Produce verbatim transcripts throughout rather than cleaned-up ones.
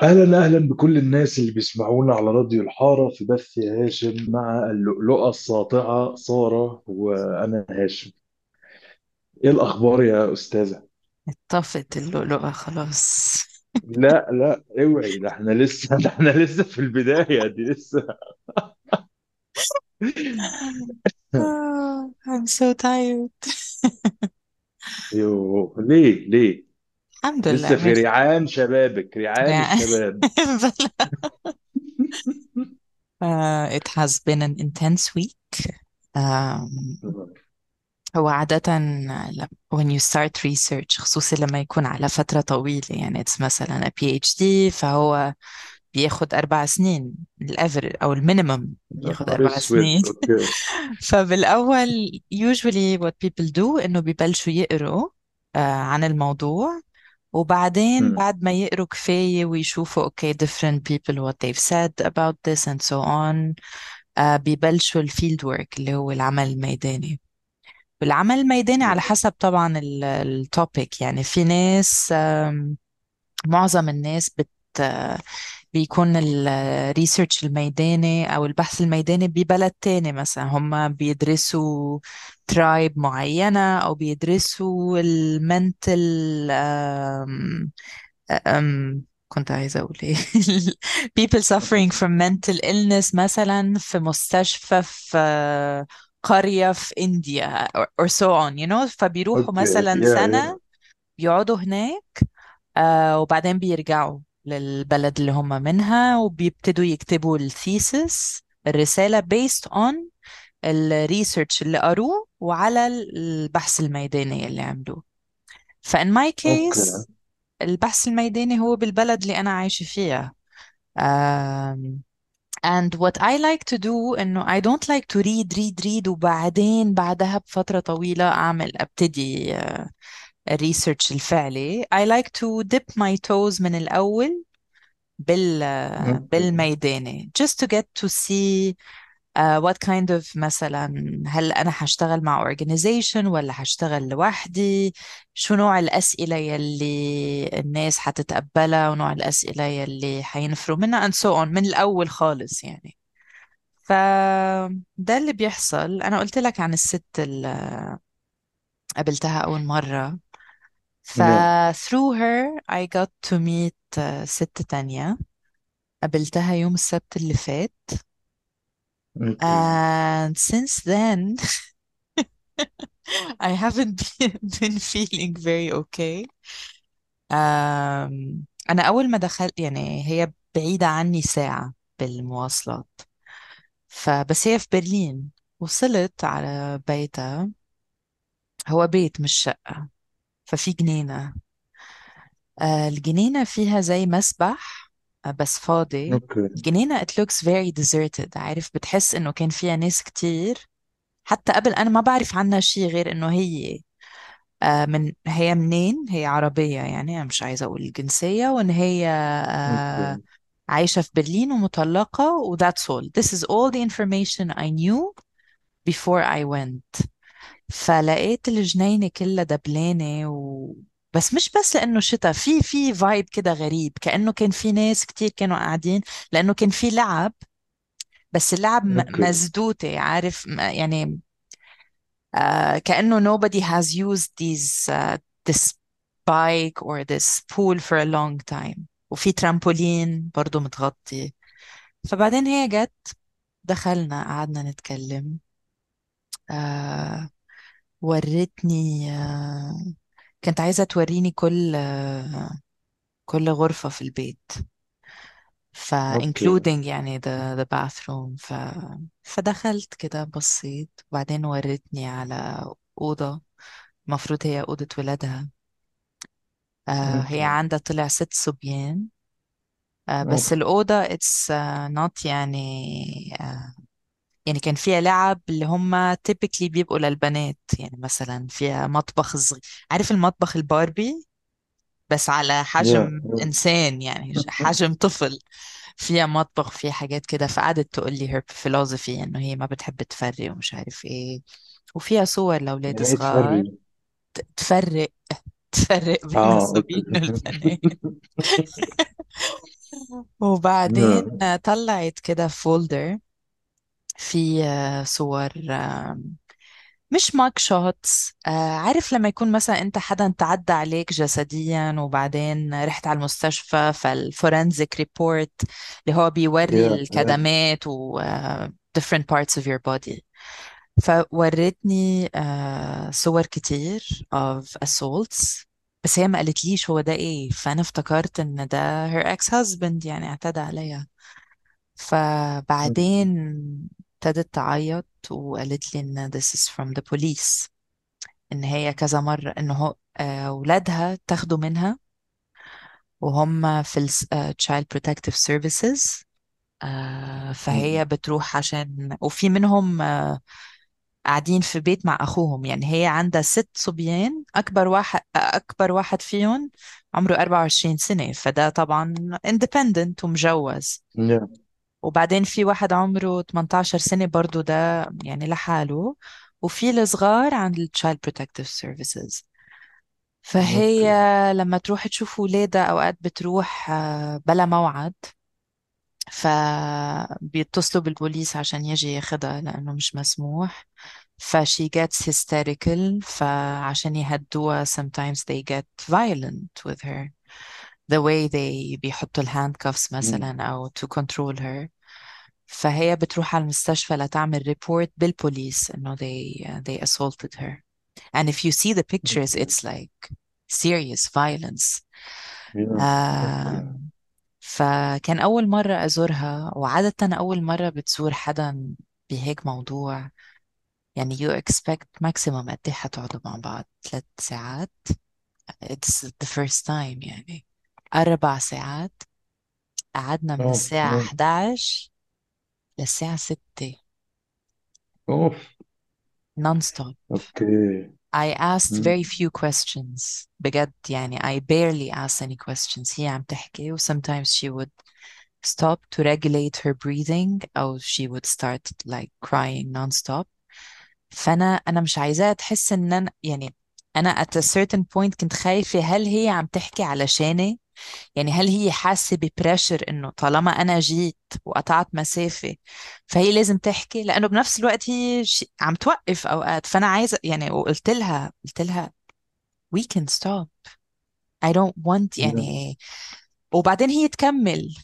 أهلا أهلا بكل الناس اللي بيسمعونا على راديو الحارة في بث يا هاشم مع اللؤلؤة الساطعة سارة وأنا هاشم. إيه الأخبار يا أستاذة؟ طفت اللؤلؤة خلاص. لا لا اوعي، ده احنا لسه ده احنا لسه في البداية دي لسه. آه، I'm so tired. يوه، ليه ليه؟ الحمد لسه لله في ميرسي. ريعان شبابك، ريعان يعني الشباب. بلا. آه, it has been an intense week. um, هو عادة ل- when you start research خصوصي لما يكون على فترة طويلة، يعني it's مثلا a PhD، فهو بياخد أربع سنين الأفر أو المينيمم، يا بياخد نهار أربع اسود، سنين. اوكي. فبالأول usually what people do إنه ببلشوا يقروا آه عن الموضوع، وبعدين مم. بعد ما يقروا كفاية ويشوفوا okay different people what they've said about this and so on، آه بيبلشوا الفيلد ورك اللي هو العمل الميداني. والعمل الميداني على حسب طبعا التوبيك، يعني في ناس آم، معظم الناس بت بيكون الريسيرش الميداني أو البحث الميداني ببلد تاني، مثلا هم بيدرسوا ترايب معينة أو بيدرسوا المنتل أم أم كنت عايزة أقول إيه people suffering from mental illness مثلا في مستشفى في قرية في إنديا or, or so on you know، فبيروحوا اوكي، مثلا يا سنة يا بيقعدوا هناك، آه وبعدين بيرجعوا للبلد اللي هم منها وبيبتدوا يكتبوا الثيسس الرسالة based on الريسيرش اللي قروه وعلى البحث الميداني اللي عملوه. فإن my اوكي. case البحث الميداني هو بالبلد اللي أنا عايشة فيها. um, and what I like to do إنه I don't like to read read read وبعدين بعدها بفترة طويلة أعمل أبتدي الريسيرش الفعلي. I like to dip my toes من الأول بال اوكي. بالميداني just to get to see uh, what kind of مثلا هل أنا هشتغل مع organization ولا هشتغل لوحدي، شو نوع الأسئلة يلي الناس هتتقبلها ونوع الأسئلة يلي هينفروا منها and so on من الأول خالص يعني. فده اللي بيحصل. أنا قلت لك عن الست اللي قابلتها أول مرة، ف يا through her I got to meet uh, ست تانية قابلتها يوم السبت اللي فات. اوكي. and since then I haven't been, been feeling very okay. um, أنا أول ما دخلت يعني هي بعيدة عني ساعة بالمواصلات، فبس هي في برلين. وصلت على بيتها، هو بيت مش شقة، ففي جنينة. آه، الجنينة فيها زي مسبح آه، بس فاضي. اوكي. الجنينة it looks very deserted، عارف بتحس إنه كان فيها ناس كتير حتى قبل. أنا ما بعرف عنها شيء غير إنه هي آه، من هي منين، هي عربية يعني، أنا مش عايزة أقول الجنسية، وإن هي آه، اوكي. عايشة في برلين ومطلقة و that's all. This is all the information I knew before I went. فلقيت الجنينة كلها دبلانة و... بس مش بس لأنه شتاء، في في فايب كده غريب كأنه كان في ناس كتير كانوا قاعدين، لأنه كان في لعب، بس اللعب م- اوكي. مزدوتة، عارف م- يعني آه كأنه nobody has used these uh, this bike or this pool for a long time. وفي ترامبولين برضو متغطي. فبعدين هي جت، دخلنا قعدنا نتكلم. آه ورتني آه كانت عايزة توريني كل آه كل غرفة في البيت، ف اوكي. including يعني the, the bathroom. ف فدخلت كده بصيت وبعدين ورتني على أوضة المفروض هي أوضة ولادها. آه هي اوكي. عندها طلع ست صبيان. آه بس اوكي. الأوضة it's uh, not يعني آه يعني كان فيها لعب اللي هم typically بيبقوا للبنات، يعني مثلا فيها مطبخ صغير، عارف المطبخ الباربي بس على يا حجم إنسان، يعني حجم طفل. فيها مطبخ فيها حاجات كده. فقعدت تقول لي her philosophy إنه هي ما بتحب تفرق ومش عارف إيه، وفيها صور لأولاد يعني ايه صغار. تفري؟ تفرق تفرق بين اه اوكي. الصبيان والبنات. وبعدين نعم. آه، طلعت كده فولدر في آه، صور، آه، مش ماك شوتس. آه عارف لما يكون مثلا انت حدا تعدى عليك جسديا وبعدين رحت على المستشفى، فالفورنزيك ريبورت اللي هو بيوري يا يا الكدمات و آه، different parts of your body. فورتني آه صور كتير of assaults، بس هي ما قالتليش هو ده ايه، فانا افتكرت ان ده her ex husband يعني اعتدى عليها. فبعدين ابتدت تعيط وقالت لي ان this is from the police، ان هي كذا مرة ان هو آه، ولادها تاخدوا منها وهم في ال آه، Child Protective Services. آه، فهي بتروح عشان، وفي منهم آه، قاعدين في بيت مع أخوهم. يعني هي عندها ست صبيان، أكبر واحد أكبر واحد فيهم عمره أربعة وعشرين سنة، فده طبعا independent ومجوز. يا وبعدين في واحد عمره تمنتاشر سنة برضو، ده يعني لحاله. وفي الصغار عند ال Child Protective Services. فهي اوكي. لما تروح تشوف ولادها أوقات بتروح آه، بلا موعد، فبيتصلوا بالبوليس عشان يجي ياخدها لأنه مش مسموح. فشي gets hysterical، فعشان يهدوها sometimes they get violent with her. The way they بيحطوا الهاندكفز مثلا أو to control her. فهي بتروح على المستشفى لتعمل ريبورت بالبوليس إنه they they assaulted her. And if you see the pictures اوكي. it's like serious violence. يا اوكي. آم، فكان أول مرة أزورها، وعادة أول مرة بتزور حدا بهيك موضوع. يعني you expect maximum قد إيه حتقعدوا مع بعض؟ ثلاث ساعات. it's the first time يعني. أربع ساعات. قعدنا من اوف الساعة اوف حداعش للساعة ستة اوف. non-stop. اوكي. I asked مم. very few questions بجد، يعني I barely asked any questions. هي عم تحكي و sometimes she would stop to regulate her breathing أو she would start like crying non-stop. فأنا أنا مش عايزاها تحس إن أنا يعني، أنا at a certain point كنت خايفة هل هي عم تحكي علشاني؟ يعني هل هي حاسة ببريشر إنه طالما أنا جيت وقطعت مسافة فهي لازم تحكي، لأنه بنفس الوقت هي ش- عم توقف أوقات. فأنا عايزة يعني، وقلت لها قلت لها we can stop. I don't want يا يعني. وبعدين هي تكمل.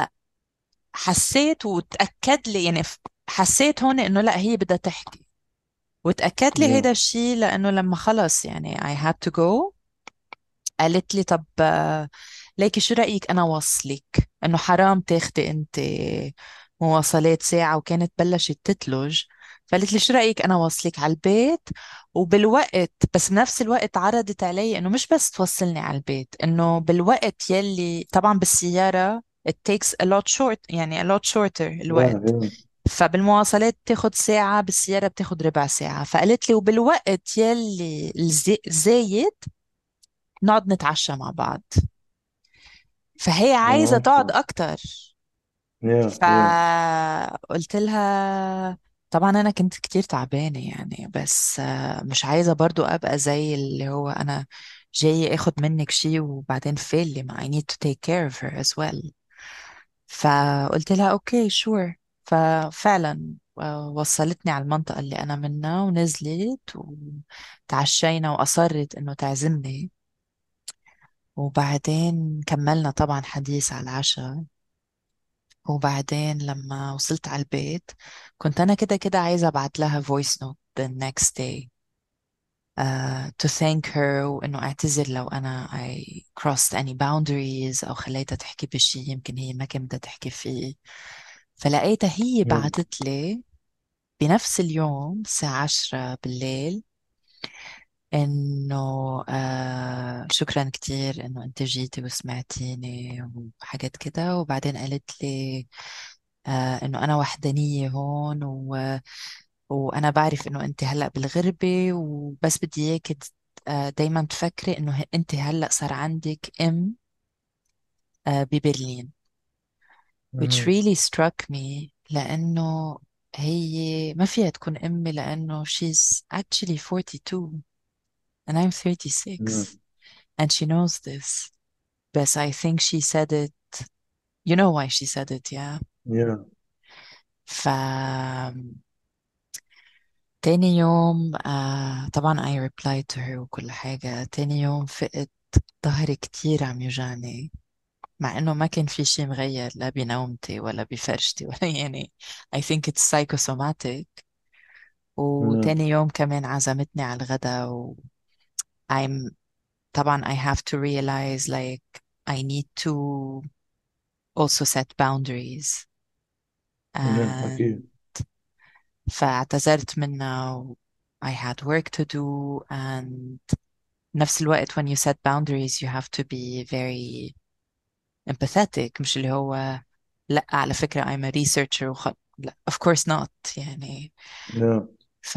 فحسيت وتأكد لي يعني، ف- حسيت هون إنه لا هي بدها تحكي. وتأكد لي يا هيدا الشيء لأنه لما خلص يعني I had to go. قالت لي طب آه، ليكي شو رأيك أنا وصلك، إنه حرام تاخدي أنت مواصلات ساعة، وكانت بلشت تتلج. فقالت لي شو رأيك أنا وصلك على البيت وبالوقت، بس بنفس الوقت عرضت علي إنه مش بس توصلني على البيت، إنه بالوقت يلي طبعا بالسيارة it takes a lot short يعني a lot shorter يا الوقت. يا فبالمواصلات بتاخد ساعة، بالسيارة بتاخد ربع ساعة. فقالت لي وبالوقت يلي الزي- الزايد نقعد نتعشى مع بعض. فهي عايزة تقعد اوكي. أكتر. يا يا فقلت لها طبعا أنا كنت كتير تعبانة يعني، بس آه، مش عايزة برضو أبقى زي اللي هو أنا جاي أخد منك شيء وبعدين فيلي، ما I need to take care of her as well. فقلت لها أوكي شور. ففعلا آه، وصلتني على المنطقة اللي أنا منها ونزلت وتعشينا، وأصرت إنه تعزمني. وبعدين كملنا طبعا حديث على العشاء. وبعدين لما وصلت على البيت كنت أنا كده كده عايزة أبعت لها voice note the next day uh, to thank her، وإنه أعتذر لو أنا I crossed any boundaries أو خليتها تحكي بشي يمكن هي ما كانت بدها تحكي فيه. فلقيتها هي يا بعتت لي بنفس اليوم الساعة عشرة بالليل إنه آه شكرا كتير إنه أنت جيتي وسمعتيني وحاجات كده. وبعدين قالت لي آه إنه أنا وحدانية هون و... وأنا بعرف إنه أنت هلأ بالغربة، وبس بدي إياك ت- آه دايما تفكري إنه ه- أنت هلأ صار عندك أم آه ببرلين. which مم. really struck me لأنه هي ما فيها تكون أمي لأنه she's actually forty-two and I'm مم. thirty-six and she knows this. بس I think she said it You know why she said it, yeah. yeah. ف تاني يوم آه طبعا I replied to her وكل حاجة. تاني يوم فقت ظهري كتير عم يوجعني، مع انه ما كان في شيء مغير لا بنومتي ولا بفرشتي ولا يعني I think it's psychosomatic. yeah. وتاني يوم كمان عزمتني على الغداء و I'm طبعا I have to realize like I need to also set boundaries. yeah. and أكيد. فاعتذرت منها و I had work to do. and نفس الوقت when you set boundaries you have to be very empathetic، مش اللي هو لا على فكرة I'm a researcher وخ... لا of course not يعني. yeah. ف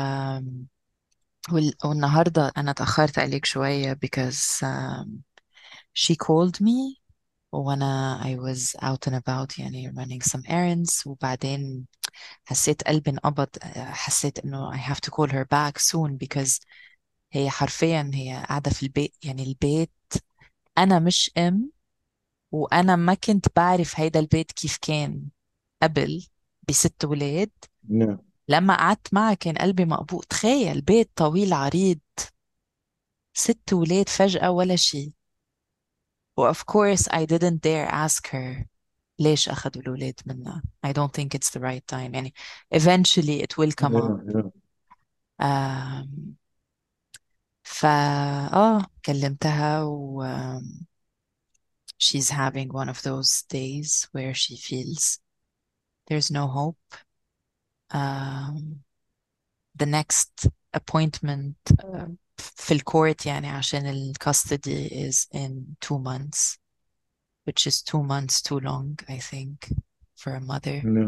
وال... والنهاردة أنا تأخرت عليك شوية because um, she called me وأنا I was out and about يعني running some errands. وبعدين حسيت قلبي انقبض، حسيت إنه I have to call her back soon because هي حرفيا هي قاعدة في البيت، يعني البيت أنا مش أم، وأنا ما كنت بعرف هيدا البيت كيف كان قبل بست ولاد. yeah. لما قعدت معها كان قلبي مقبوض. تخيل بيت طويل عريض، ست ولاد فجأة ولا شيء. و of course I didn't dare ask her ليش أخذوا الولاد منا. I don't think it's the right time يعني. eventually it will come up. yeah. yeah. um, فا آه كلمتها و um, she's having one of those days where she feels there's no hope. um, the next appointment uh, في الكورت يعني عشان ال custody is in two months, which is two months too long I think for a mother. yeah.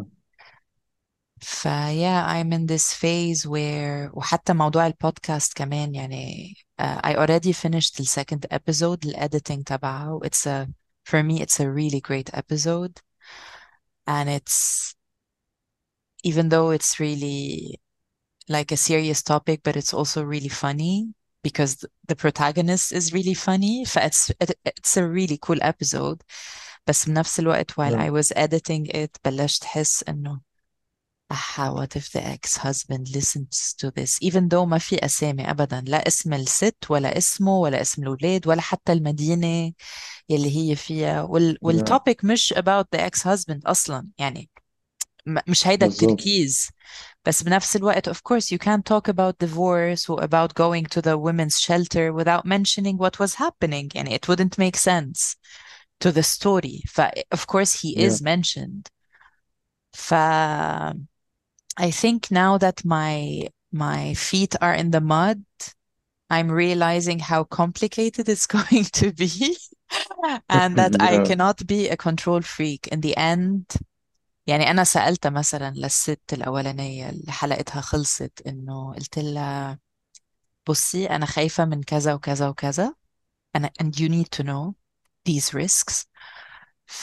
ف yeah I'm in this phase where وحتى موضوع البودكاست كمان يعني uh, I already finished the second episode ال editing تبعه. it's a for me it's a really great episode. and it's even though it's really like a serious topic, but it's also really funny because the protagonist is really funny. فit's it, it's a really cool episode. بس بنفس الوقت while yeah. I was editing it بلشت أحس إنه أحا what if the ex-husband listens to this even though ما في أسامي أبدا، لا اسم الست ولا اسمه ولا اسم الأولاد ولا حتى المدينة يلي هي فيها وال yeah. والtopic مش about the ex-husband أصلا يعني. م- مش هيدا بالظبط. التركيز. بس بنفس الوقت of course you can't talk about divorce or about going to the women's shelter without mentioning what was happening يعني it wouldn't make sense to the story. ف of course he yeah. is mentioned. ف I think now that my my feet are in the mud I'm realizing how complicated it's going to be and that I yeah. cannot be a control freak in the end. يعني أنا سألتها مثلا للست الأولانية اللي حلقتها خلصت إنه قلت لها بصي أنا خايفة من كذا وكذا وكذا أنا and you need to know these risks. ف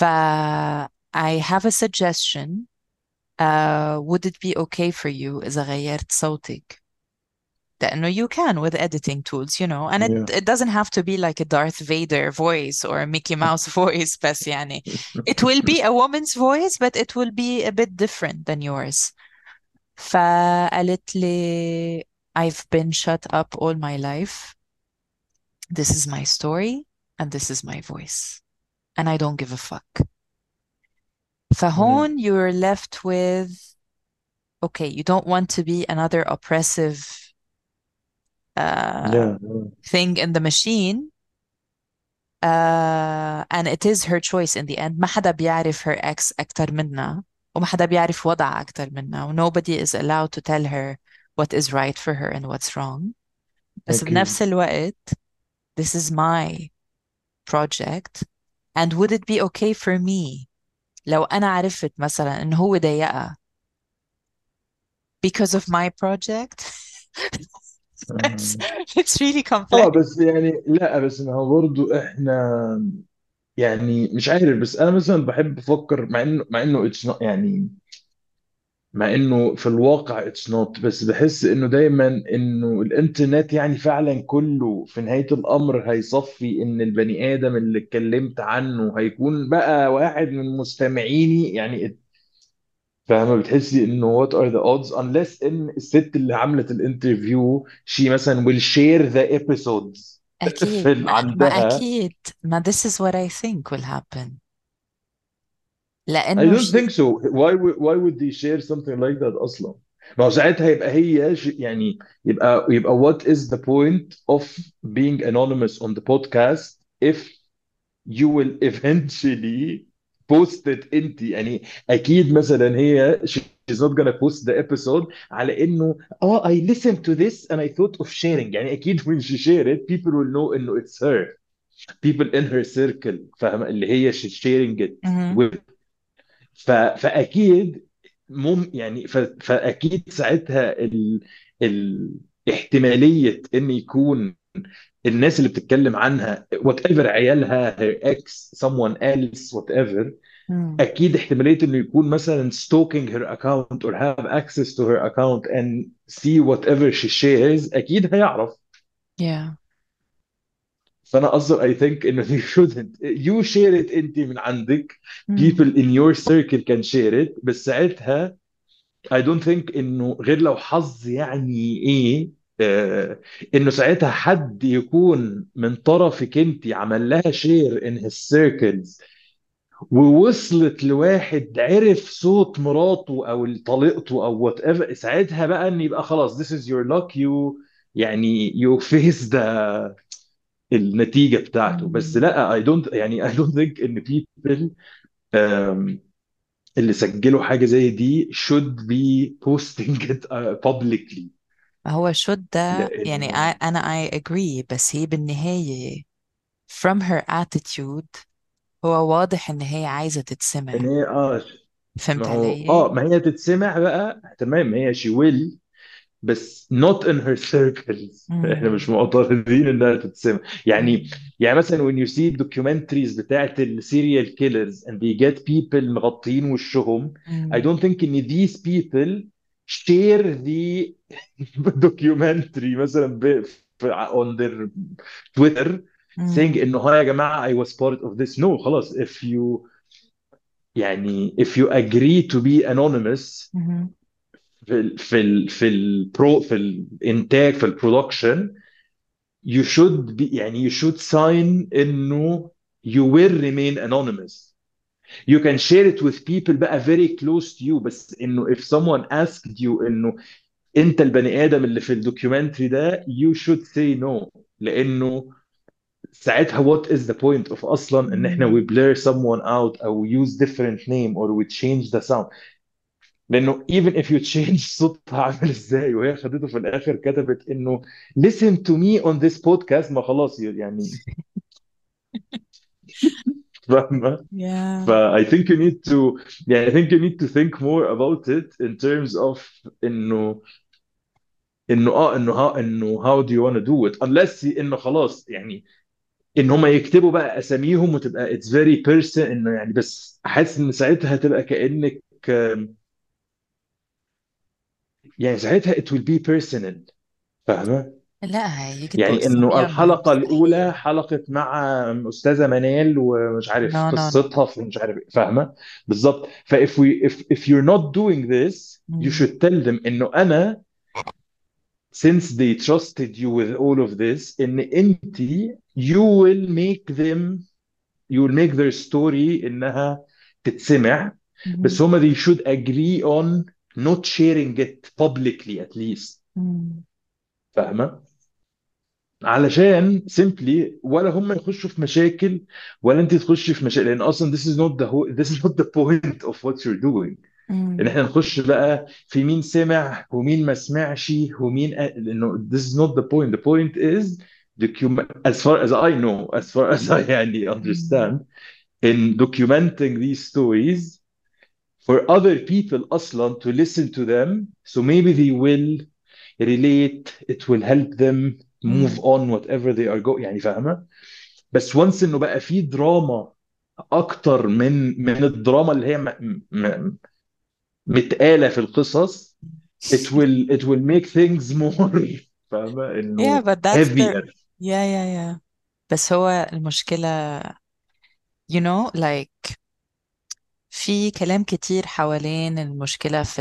I have a suggestion. uh, would it be okay for you إذا غيرت صوتك؟ لأنه you can with editing tools you know and it, yeah. it doesn't have to be like a Darth Vader voice or a Mickey Mouse voice بس يعني it will be a woman's voice but it will be a bit different than yours. فقالت لي I've been shut up all my life. This is my story and this is my voice and I don't give a fuck. yeah. فهون you're left with okay you don't want to be another oppressive uh, yeah. thing in the machine. uh, and it is her choice in the end. ما حدا بيعرف her ex أكتر منها وما حدا بيعرف وضعها أكتر منها و nobody is allowed to tell her what is right for her and what's wrong. بس أكيد. بنفس الوقت this is my project and would it be okay for me لو أنا عرفت مثلا إنه هو ضايقها because of my project. it's, آه it's really آه، complex. بس يعني لا، بس ما هو برضو احنا يعني مش عارف، بس انا مثلا بحب افكر، مع انه مع انه اتس يعني مع انه في الواقع اتس نوت. بس بحس انه دايما انه الانترنت يعني فعلا كله في نهاية الامر هيصفي ان البني ادم اللي اتكلمت عنه هيكون بقى واحد من مستمعيني يعني. فاهمة؟ بتحسي انه what are the odds unless ان الست اللي عملت الانترفيو she مثلا will share the episodes أكيد، في ال- ما, ما عندها. أكيد، ما this is what I think will happen. I لأنه don't شيء. think so. Why would why would they share something like that أصلا؟ ما هو ساعتها يبقى هي ش- يعني يبقى يبقى what is the point of being anonymous on the podcast if you will eventually post it انت يعني. اكيد مثلا هي she's not gonna post the episode على انه اه I listened to this and I thought of sharing. يعني اكيد when she share it people will know انه it's her, people in her circle فاهمة اللي هي she's sharing it مهم. with. ف... فاكيد مم يعني ف... فاكيد ساعتها ال... ال... احتماليه ان يكون الناس اللي بتتكلم عنها وات ايفر عيالها her ex someone else whatever. مم. اكيد احتماليه انه يكون مثلا stalking her account or have access to her account and see whatever she shares اكيد هيعرف. Yeah. فانا قصدي I think انه you shouldn't you share it انت من عندك. مم. people in your circle can share it. بس ساعتها I don't think انه غير لو حظ يعني ايه آه انه ساعتها حد يكون من طرفك انت عمل لها شير in his circles ووصلت لواحد عرف صوت مراته او طليقته او وات ايفر. ساعتها بقى ان يبقى خلاص this is your luck you يعني you face the النتيجة بتاعته. بس مم. لا I don't يعني I don't think ان people um, اللي سجلوا حاجة زي دي should be posting it uh, publicly. هو شد ده يعني لأنه I, أنا I agree، بس هي بالنهاية from her attitude هو واضح إن هي عايزة إن تتسمع. هي آه ما فهمت هو علي؟ آه ما هي تتسمع بقى تمام هي she will بس not in her circles. احنا مم. مش معترضين انها تتسمع يعني. مم. يعني مثلا when you see documentaries بتاعت السيريال killers and they get people مغطين وشهم I مم. don't think ان these people share the documentary مثلا ب- في- on their Twitter saying مم. انه ها يا جماعة I was part of this. no خلاص if you يعني if you agree to be anonymous مم. في ال في ال في البرو في الانتاج في البرودكشن you should be يعني you should sign انه you will remain anonymous. you can share it with people بقى very close to you بس انه if someone asked you انه انت البني ادم اللي في الدوكيومنتري ده you should say no. لانه ساعتها what is the point of اصلا ان احنا مم. we blur someone out او use different name or we change the sound. لانه even if you change صوتها عامل ازاي وهي خدته في الاخر كتبت انه listen to me on this podcast ما خلاص يعني. فاهمة؟ ف Yeah. I think you need to يعني I think you need to think more about it in terms of انه انه اه انه ها انه how do you want to do it unless انه خلاص يعني ان هم يكتبوا بقى اساميهم وتبقى it's very person انه يعني. بس حاسس ان ساعتها هتبقى كأنك آم، يعني ساعتها it will be personal. فاهمة؟ لا، يكتبوا يعني انه أساميهم الحلقه الاولى مستحيل. حلقه مع استاذه منال ومش عارف No, no, no. قصتها في مش عارف إيه. فاهمه؟ بالظبط. ف if we if if you're not doing this you مم. should tell them انه انا since they trusted you with all of this ان انت you will make them you will make their story انها تتسمع. بس مم. هما they should agree on not sharing it publicly at least. مم. فاهمه؟ علشان simply ولا هم يخشوا في مشاكل ولا انت تخشي في مشاكل. لان اصلا this is not the whole, this is not the point of what you're doing. ان مم. احنا نخش بقى في مين سمع ومين ما سمعش ومين أ... لانه this is not the point. The point is document as far as I know as far as I يعني مم. understand in documenting these stories for other people اصلا to listen to them so maybe they will relate it will help them move مم. on whatever they are going يعني. فاهمة؟ بس وانس انه بقى في دراما اكتر من من الدراما اللي هي م... م... متقالة في القصص it will it will make things more فاهمة yeah انه but that's the heavier. yeah yeah yeah بس هو المشكلة you know like في كلام كتير حوالين المشكلة في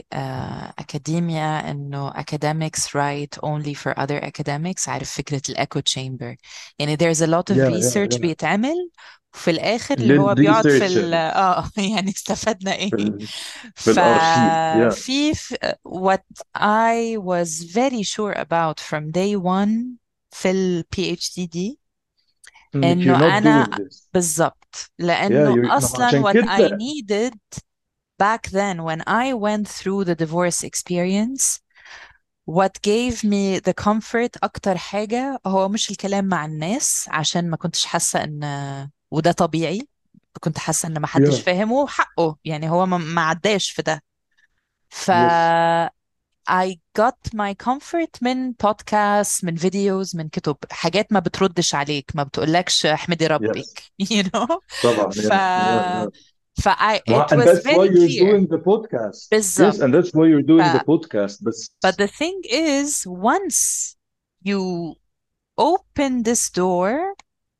الأكاديميا إنه academics write only for other academics. عارف فكرة الأكو تشامبر؟ يعني there's a lot of يا يا research يا بيتعمل وفي الآخر اللي هو بيقعد في ال للريسيرشر آه يعني استفدنا إيه؟ في ال... في الارشيف. يا ففي ف- what I was very sure about from day one في ال PhD دي انك إنه you're not أنا doing this. بالظبط يا لأنه you're... ما هو أصلا عشان what I كده. needed back then when I went through the divorce experience what gave me the comfort أكتر حاجة هو مش الكلام مع الناس عشان ما كنتش حاسة إن وده طبيعي. كنت حاسة إن ما حدش يا فاهمه حقه يعني هو ما ما عداش في ده. ف يس I got my comfort من بودكاست من فيديوز من كتب حاجات ما بتردش عليك ما بتقولكش احمدي ربك يس you know. طبعا. ف يا يا يا ف I ما it and was that's why very you're clear doing the podcast. Yes, and بالظبط. that's why you're ف doing the podcast. بس but the thing is once you open this door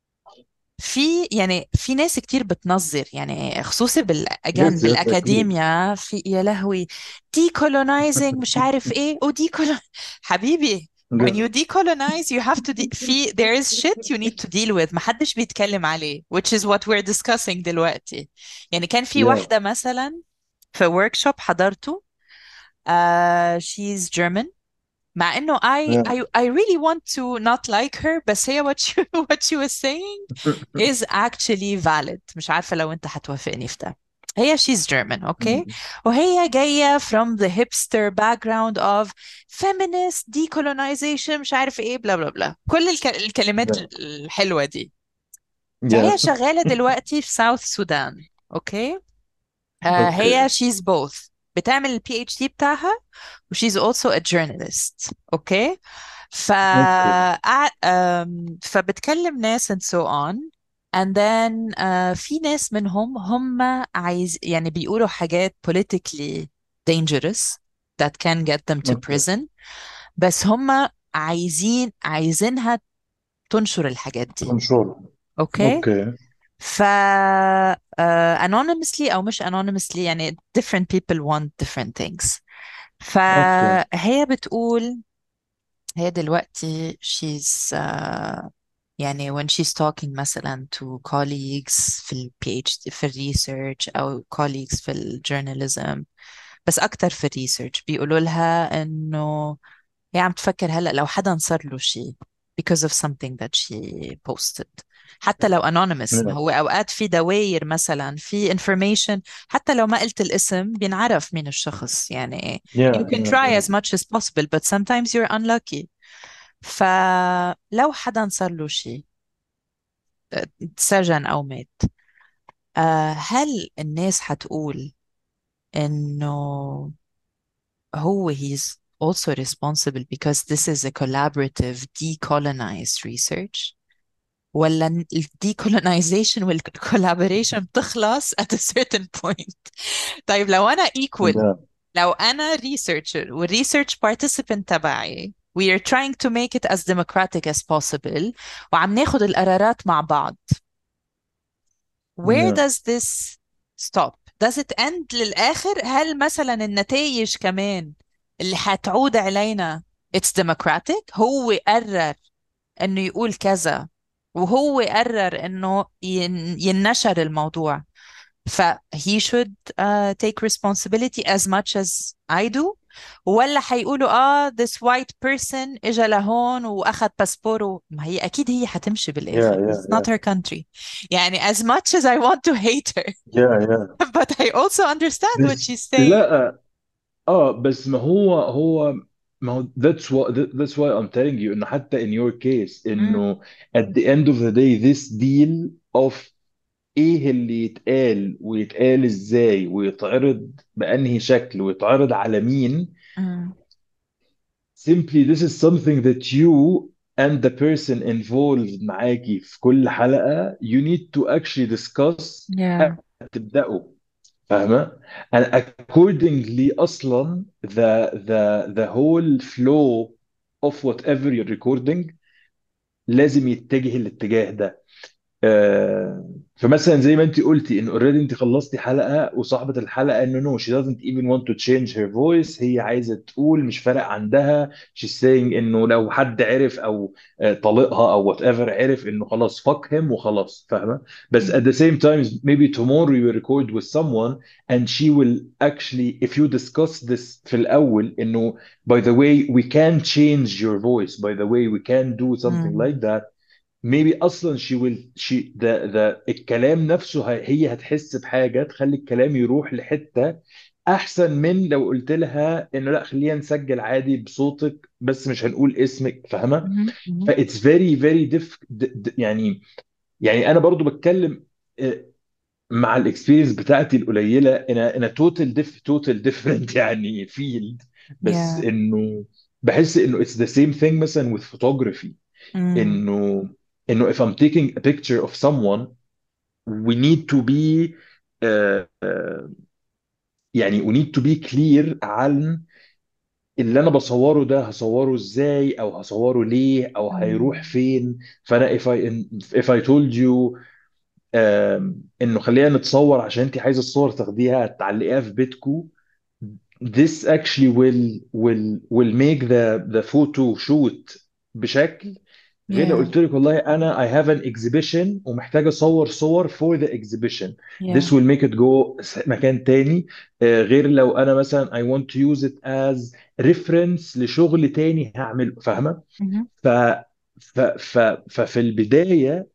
في يعني في ناس كتير بتنظر يعني خصوصي بالأجان yes yes اكيد. بالأكاديميا في يا لهوي decolonizing مش عارف ايه و decolon حبيبي when you Yeah. decolonize you have to de في there is shit you need to deal with محدش بيتكلم عليه which is what we're discussing دلوقتي. يعني كان في Yeah. واحدة مثلا في workshop حضرته uh, she's German مع انه I, Yeah. I I really want to not like her بس هي what she, what she was saying is actually valid. مش عارفة لو انت هتوافقني في ده. هي she's German okay وهي جاية from the hipster background of feminist decolonization مش عارف ايه بلا بلا بلا كل الك... الكلمات Yeah. الحلوة دي. Yeah. فهي شغالة دلوقتي في ساوث السودان اوكي. آه هي Okay. she's both بتعمل البي اتش دي بتاعها و she's also a journalist اوكي. ف Okay. قع- آم، فبتكلم ناس and so on and then آه في ناس منهم هم عايز يعني بيقولوا حاجات politically dangerous that can get them to Okay. prison بس هم عايزين عايزينها تنشر الحاجات دي Control. اوكي. Okay. ف uh, anonymously أو مش anonymously يعني different people want different things. Okay. فهي بتقول هي دلوقتي she's uh, يعني when she's talking مثلا to colleagues في ال PhD في ال research أو colleagues في ال journalism بس أكتر في ال research بيقولوا لها إنه هي عم تفكر هلأ لو حدا صار له شيء because of something that she posted حتى لو anonymous. ما Yeah. هو أوقات في دواير مثلا في information حتى لو ما قلت الاسم بينعرف مين الشخص يعني you Yeah. can Yeah. try Yeah. as much as possible but sometimes you're unlucky. فلو حدا صار له شيء سجن أو مات آه، هل الناس حتقول إنه هو he's also responsible because this is a collaborative decolonized research ولا ال decolonization وال collaboration بتخلص at a certain point. طيب لو أنا equal Yeah. لو أنا researcher والresearch participant تبعي we are trying to make it as democratic as possible وعم ناخد القرارات مع بعض where Yeah. does this stop? Does it end للآخر؟ هل مثلا النتائج كمان اللي حتعود علينا it's democratic هو قرر انه يقول كذا وهو قرر انه ين- ينشر الموضوع ف he should uh, take responsibility as much as I do ولا حيقولوا اه this white person اجى لهون واخذ باسبوره ما هي اكيد هي حتمشي Yeah. بالاخر Yeah. it's not Yeah. her country. يعني as much as I want to hate her Yeah. Yeah. but I also understand what بس she's saying. لا اه بس ما هو هو ما هو that's what that's why I'm telling you انه حتى in your case مم. انه at the end of the day this deal of ايه اللي يتقال ويتقال ازاي ويتعرض بأنهي شكل ويتعرض على مين. مم. simply this is something that you and the person involved معاكي في كل حلقة you need to actually discuss Yeah. تبدأوا. فاهمة؟ and accordingly أصلا the the the whole flow of whatever you're recording لازم يتجه الاتجاه ده. آه، فمثلا زي ما انت قلتي ان اوريدي انت خلصتي حلقه وصاحبه الحلقه انه نو she doesn't even want to change her voice، هي عايزه تقول مش فارق عندها. she's saying انه لو حد عرف او آه، طليقها او whatever عرف انه خلاص fuck him وخلاص، فاهمه؟ بس at the same time maybe tomorrow you record with someone and she will actually if you discuss this في الاول انه by the way we can change your voice, by the way we can do something مم. like that. maybe اصلا she will she the the الكلام نفسه هي هي هتحس بحاجه تخلي الكلام يروح لحته احسن من لو قلت لها انه لا خلينا نسجل عادي بصوتك بس مش هنقول اسمك، فاهمه؟ مم. مم. فايتس فيري فيري ديف يعني. يعني انا برضو بتكلم آه، مع الاكسبيرينس بتاعتي القليله انا انا توتال ديف توتال ديفرنت يعني فيلد. بس Yeah. انه بحس انه اتس ذا سيم ثينج مثلا with photography. مم. انه انه if I'm taking a picture of someone we need to be uh, uh, يعني we need to be clear عن اللي انا بصوره ده هصوره ازاي او هصوره ليه او هيروح مم. فين. فانا if I if I told you um, انه خلينا نتصور عشان انت عايزه الصور تاخديها تعلقيها في بيتكو this actually will will will make the the photo shoot بشكل غير لو Yeah. قلت لك والله انا I have an exhibition ومحتاج اصور صور for the exhibition. this Yeah. will make it go س- مكان تاني. آه، غير لو انا مثلا I want to use it as reference لشغل تاني هعمله، فاهمة؟ مم. ف ف ف ففي البداية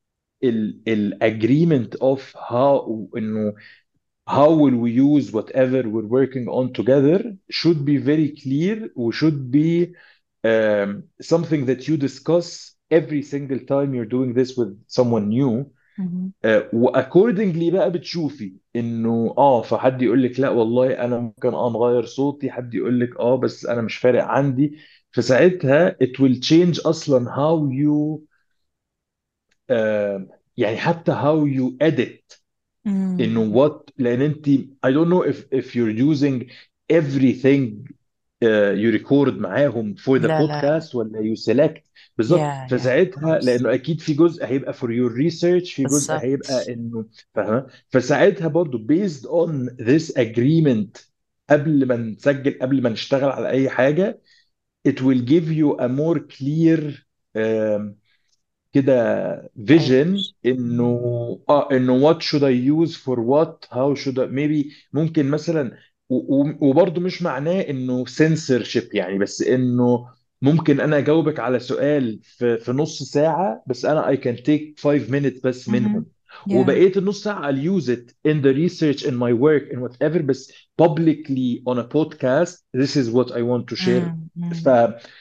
ال ال agreement of how انه how will we use whatever we're working on together should be very clear و should be um, something that you discuss every single time you're doing this with someone new. مم. uh, واكوردنجلي بقى بتشوفي انه اه فحد يقول لك لا والله انا ممكن اه نغير صوتي، حد يقول لك اه بس انا مش فارق عندي. فساعتها it will change اصلا how you uh, يعني حتى how you edit انه مم. what لان انت I don't know if if you're using everything uh, you record معاهم for the لا لا. podcast ولا you select. بالظبط، Yeah. Yeah. Of فساعتها course. لانه اكيد في جزء هيبقى for your research في جزء هيبقى بالظبط. انه فاهمه. فساعتها برضو based on this agreement قبل ما نسجل قبل ما نشتغل على اي حاجه it will give you a more clear um, كده vision Direction. انه مم. اه انه what should I use for what how should I maybe ممكن مثلا و- و- وبرضه مش معناه انه censorship يعني، بس انه ممكن انا اجاوبك على سؤال في في نص ساعة بس انا I can take five minutes بس منهم، مم. Yeah. وبقية النص ساعة I'll use it in the research in my work in whatever بس publicly on a podcast this is what I want to share. مم. مم. ف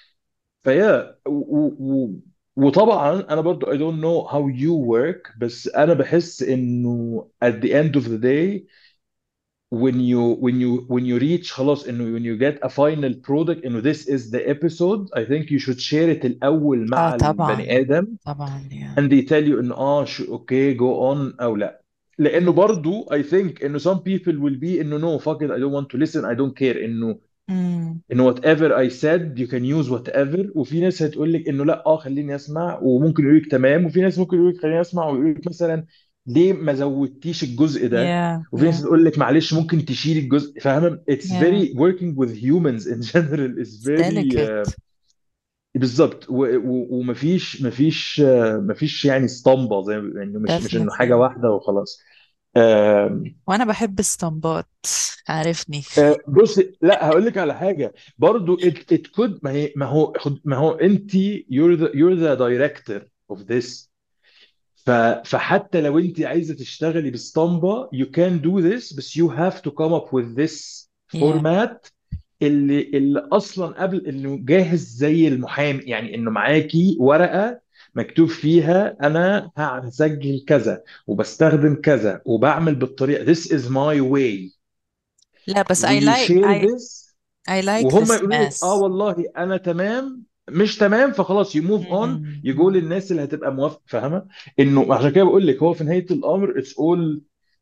فيا و... و... وطبعا انا برضو I don't know how you work بس انا بحس انه at the end of the day when you when you when you reach خلاص انه when you get a final product انه this is the episode I think you should share it الاول اه مع طبعا. البني ادم طبعا. Yeah. and they tell you انه اه شو اوكي go on او لا. لانه Yes. برضو I think انه some people will be انه no fuck it I don't want to listen I don't care انه مم. انه whatever I said you can use whatever. وفي ناس هتقول لك انه لا اه خليني اسمع وممكن يقول لك تمام، وفي ناس ممكن يقول لك خليني اسمع ويقول لك مثلا ليه ما زودتيش الجزء ده، Yeah. وفي ناس Yeah. تقول لك معلش ممكن تشيل الجزء، فاهمه؟ it's Yeah. very working with humans in general is It's very uh, delicate. بالظبط. و- و- ومفيش مفيش آه، مفيش يعني اسطمبه زي ما- يعني مش مش انه حاجه Definitely. واحده وخلاص. آم، وانا بحب الاسطمبات، عارفني. آه، بص لا هقول لك على حاجه برضو it, it could ما هي ما هو خد- ما هو انت you're the you're the director of this. ف, فحتى لو انت عايزه تشتغلي باسطمبه you can do this بس you have to come up with this Yeah. format اللي اللي اصلا قبل انه جاهز زي المحامي، يعني انه معاكي ورقه مكتوب فيها انا هسجل كذا وبستخدم كذا وبعمل بالطريقه this is my way لا بس I ويو like شير I ذس. I like وهم this يقولوا لك اه mess. والله انا تمام مش تمام فخلاص يو موف اون يجوا مم. للناس اللي هتبقى موافقه، فاهمه؟ انه عشان كده بقول لك هو في نهايه الامر اتس اول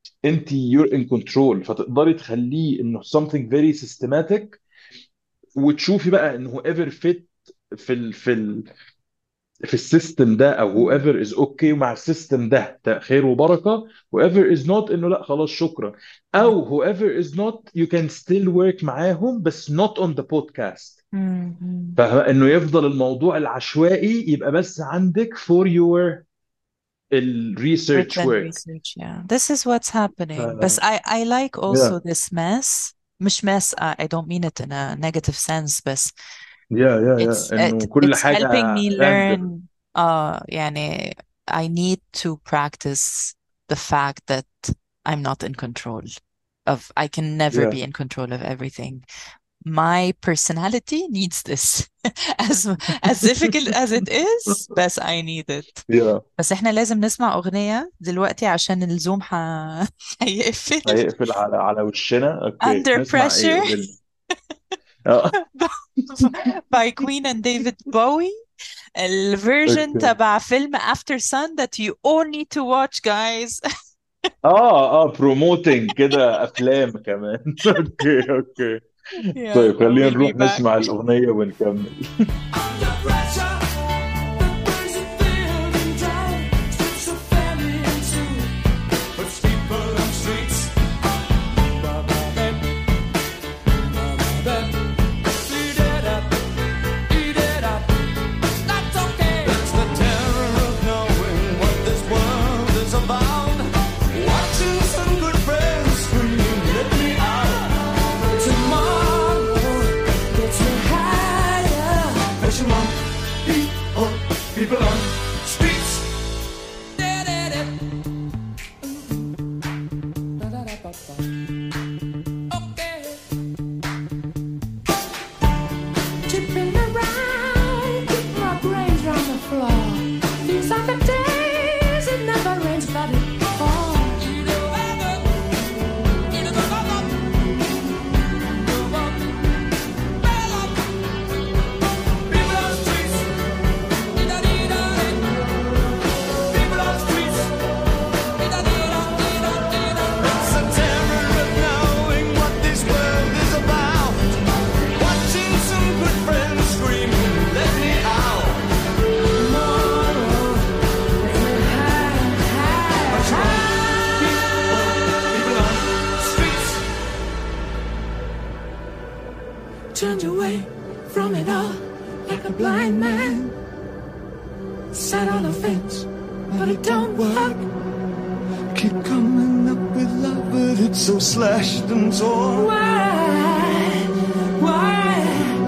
انت you're in control، فتقدري تخليه انه something very systematic، وتشوفي بقى انه whoever fit في ال في ال في السيستم ده، او مم. whoever is okay مع السيستم ده، ده خير وبركه. whoever is not، انه لا خلاص شكرا. او whoever is not you can still work معاهم بس not on the podcast. مم. فانه يفضل الموضوع العشوائي يبقى بس عندك for your الريسيرش Written work. research, yeah. This is what's ف happening. But I, I like also yeah this mess. مش mess, I, I don't mean it in a negative sense, but yeah yeah it's yeah it, انه كل it's حاجه helping me random. learn. Uh, يعني I need to practice the fact that I'm not in control of, I can never yeah be in control of everything. My personality needs this. as as difficult as it is, بس I need it. yeah بس احنا لازم نسمع أغنية دلوقتي عشان الزوم ح... هيقفل. هيقفل على على وشنا. اوكي، Under نسمع ايه؟ Pressure قول لي. اه by Queen and David Bowie. الفيرجن اوكي. تبع فيلم After Sun that you all need to watch, guys. اه اه بروموتنج كده افلام كمان. اوكي اوكي. Yeah, طيب so خلينا we'll be نروح back. نسمع الاغنيه ونكمل. Under pressure, the burns of building down, strips of family in two, puts people on streets. Ba-ba-bam, ba-ba-bam. Eat it up, eat it up. That's okay. It's the terror of knowing what this world is about. Watching some good friends scream, let me out. Tomorrow gets me higher. Pushing on people, people on streets. Okay. Tipping around, keep my brains round the floor. These are the days it never rains, but it falls. People on streets. People on streets. It's the terror of knowing what this world is about. Watching some good friends screaming, let me out. Tomorrow, let me high, high, high. People on streets. Turned away from it all like a blind man. Sat on a fence, but it don't work. Keep coming up with love, but it's so slashed and torn. Why? Why?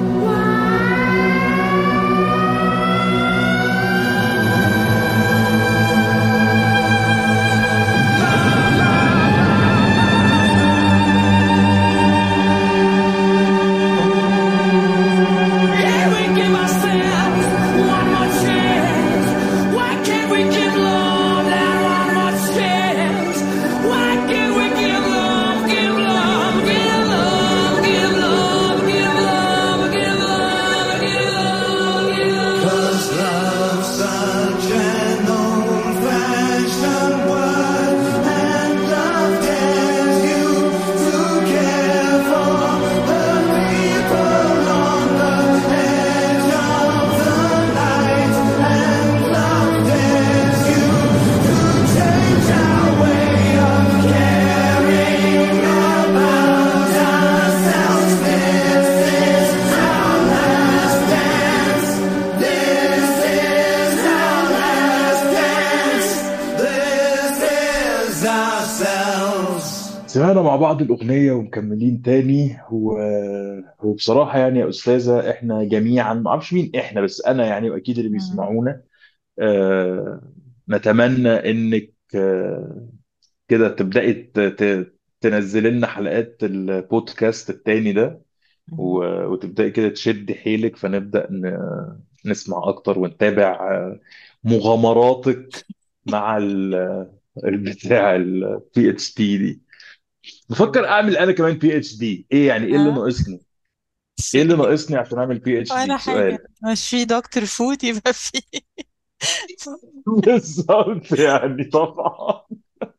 Can't we give ourselves one more chance? Why can't we give love that one more chance? Why can't we give love, give love, give love, give love, give love, give love, give love, give love? 'Cause love's such an old-fashioned word, and love dares you to care for the people on the edge of the night, and love dares you to change our way of caring about ourselves. This is our last dance. This is our last dance. This is ourselves. سمعنا مع بعض الأغنية ومكملين تاني. و... وبصراحة يعني يا أستاذة، إحنا جميعا، ما أعرفش مين إحنا، بس أنا يعني وأكيد اللي مم. بيسمعونا، آه، نتمنى إنك آه، كده تبدأي ت... ت... تنزل لنا حلقات البودكاست التاني ده، مم. و... وتبدأي كده تشد حيلك، فنبدأ ن... نسمع أكتر ونتابع آه، مغامراتك مع ال... البتاع البي اتش دي دي. بفكر اعمل انا كمان بي اتش دي. ايه يعني؟ ايه اللي ها. ناقصني؟ ايه اللي في ناقصني عشان اعمل بي اتش ولا دي؟ حاجة، سؤال. مش في دكتور فود يبقى في. بالظبط يعني طبعا.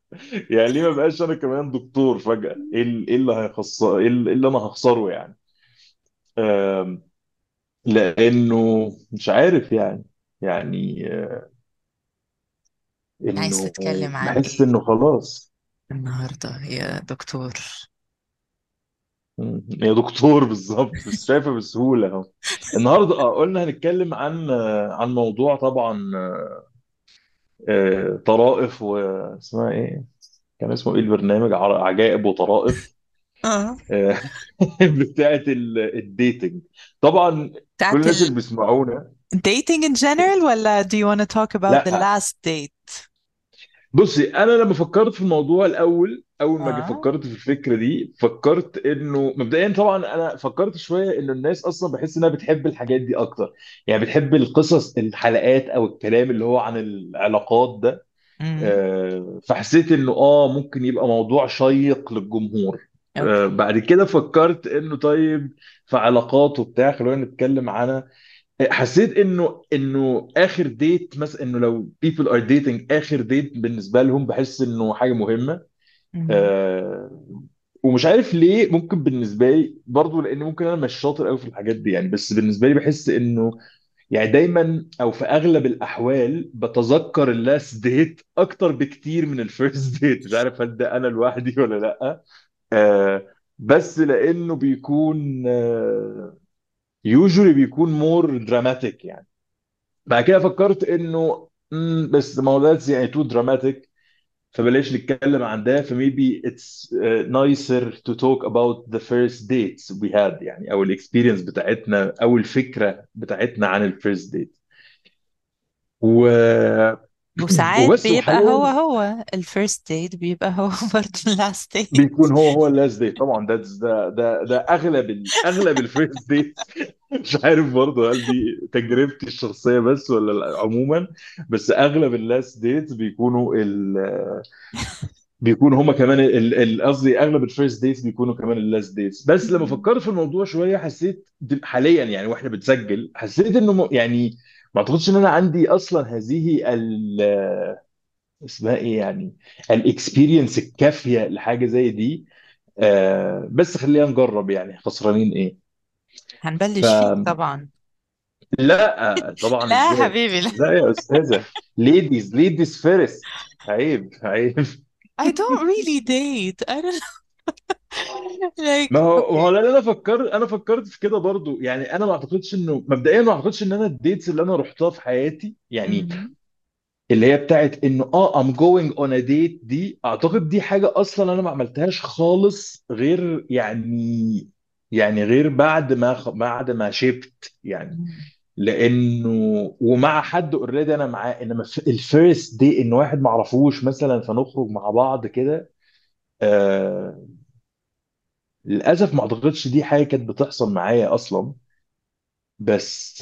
يعني ليه ما بقاش انا كمان دكتور فجأة؟ ايه ال- إيه اللي هيخسر، ايه ال- إيه اللي انا هخسره يعني؟ آم، لانه مش عارف يعني، يعني آه، عايز انه تتكلم عن بحس ايه انه خلاص. النهاردة يا دكتور؟ مم. يا دكتور بالظبط، بس شايفه بسهوله اهو. النهارده اه قلنا هنتكلم عن آه، عن موضوع طبعا، آه، طرائف، واسمها ايه، كان اسمه ايه البرنامج، ع- عجائب وطرائف، اه، آه، بتاعت ال- الديتنج طبعا. كل بتاعت الناس ال اللي بيسمعونا، dating in general ولا do you want to talk about the لا last date؟ بصي، انا لما فكرت في الموضوع الاول، اول ما جي اه. فكرت في الفكره دي، فكرت انه مبدئيا طبعا انا فكرت شويه انه الناس اصلا بحس انها بتحب الحاجات دي اكتر، يعني بتحب القصص، الحلقات او الكلام اللي هو عن العلاقات ده. امم. آه، فحسيت انه اه ممكن يبقى موضوع شيق للجمهور. آه، اوكي. بعد كده فكرت انه طيب، في علاقات وبتاع خلونا نتكلم عنها. حسيت انه انه اخر ديت مثلا، انه لو people are dating اخر ديت بالنسبه لهم، بحس انه حاجه مهمه. امم. آه ومش عارف ليه، ممكن بالنسبه لي برضو لان ممكن انا مش شاطر قوي في الحاجات دي يعني، بس بالنسبه لي بحس انه يعني دايما او في اغلب الاحوال بتذكر اللاست ديت اكتر بكتير من الفيرست ديت. مش عارف هل ده انا لوحدي ولا لا. آه بس لانه بيكون آه يوجولي بيكون مور دراماتيك يعني. بعد كده فكرت انه مم، بس ما هو that's يعني تو دراماتيك، فبلاش نتكلم عن ده. فميبي it's uh, nicer to talk about the first dates we had يعني، او الاكسبيرينس بتاعتنا او الفكره بتاعتنا عن الفيرست ديت. و... وساعات وبس بيبقى هو وحاليا هو ال first date بيبقى هو برضه ال last date. بيكون هو هو اللاست ديت طبعا. ده ده ده ده اغلب ال... اغلب الفيرست ديت. مش عارف برضه هل دي تجربتي الشخصيه بس ولا عموما، بس اغلب اللاست ديت بيكونوا ال... بيكونوا هما كمان ال- ال- قصدي اغلب الفيرست ديتس بيكونوا كمان اللاست ديتس. بس لما مم. فكرت في الموضوع شويه حسيت د- حاليا يعني واحنا بنسجل، حسيت انه م- يعني ما اعتقدش ان انا عندي اصلا هذه ال اسمها ايه يعني، الاكسبيرينس الكافيه لحاجه زي دي. آه بس خلينا نجرب يعني، خسرانين ايه؟ هنبلش فيه فلا طبعا. طبعا، لا يا ازاي؟ حبيبي لا. لا يا استاذه، ليديز ليديز فيرست. عيب عيب. I don't really date. I don't ما like هو ما هو okay. لان انا فكرت انا فكرت في كده برضو يعني. انا ما اعتقدش انه مبدئيا، ما اعتقدش ان انا الديتس اللي انا رحتها في حياتي يعني، مم. اللي هي بتاعت انه اه I'm going on a date دي، اعتقد دي حاجه اصلا انا ما عملتهاش خالص، غير يعني يعني غير بعد ما خ- بعد ما شبت يعني. مم. لانه ومع حد اوريدي انا معاه، انما الفيرست دي ان واحد ما اعرفوش مثلا فنخرج مع بعض كده. آه للاسف ما اعتقدش دي حاجه كانت بتحصل معايا اصلا. بس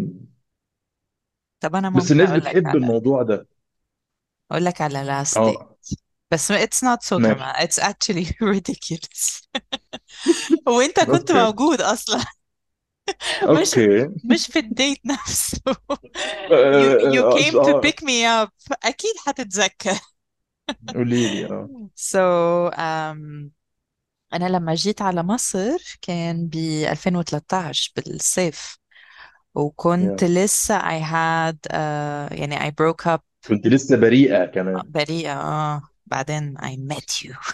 طب انا بس ممكن الناس اقول لك بتحب على الموضوع ده. اقول لك على last date. اه بس ما- it's not so ماشي. dramatic. It's actually ridiculous. وانت كنت اوكي موجود اصلا. مش اوكي. مش في الديت نفسه. you اه you اه came to آه. pick me up. اكيد هتتذكر. قولي لي اه. so um, انا لما جيت على مصر كان ب ألفين وثلاثة عشر بالصيف. وكنت يا. لسه I had uh, يعني I broke up. كنت لسه بريئة كمان. بريئة اه بعدين I met you.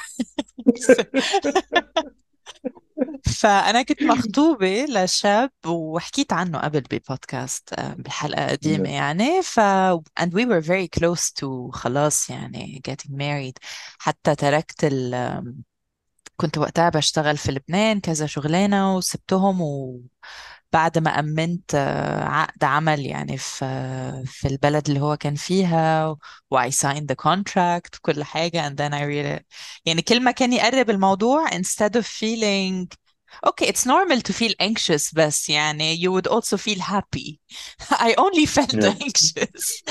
فأنا كنت مخطوبة لشاب وحكيت عنه قبل ببودكاست آه، بحلقة قديمة يا. يعني ف and we were very close to خلاص يعني getting married. حتى تركت ال كنت وقتها بشتغل في لبنان كذا شغلانة وسبتهم. وبعد ما أمنت آه، عقد عمل يعني في في البلد اللي هو كان فيها و I signed the contract وكل حاجة and then I really يعني كل ما كان يقرب الموضوع instead of feeling okay it's normal to feel anxious بس يعني you would also feel happy. I only felt يا. anxious.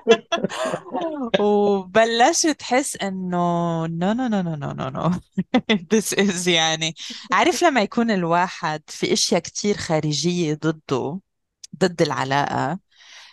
وبلشت تحس انه no no no no no no no this is يعني عارف لما يكون الواحد في اشياء كتير خارجية ضده ضد العلاقة.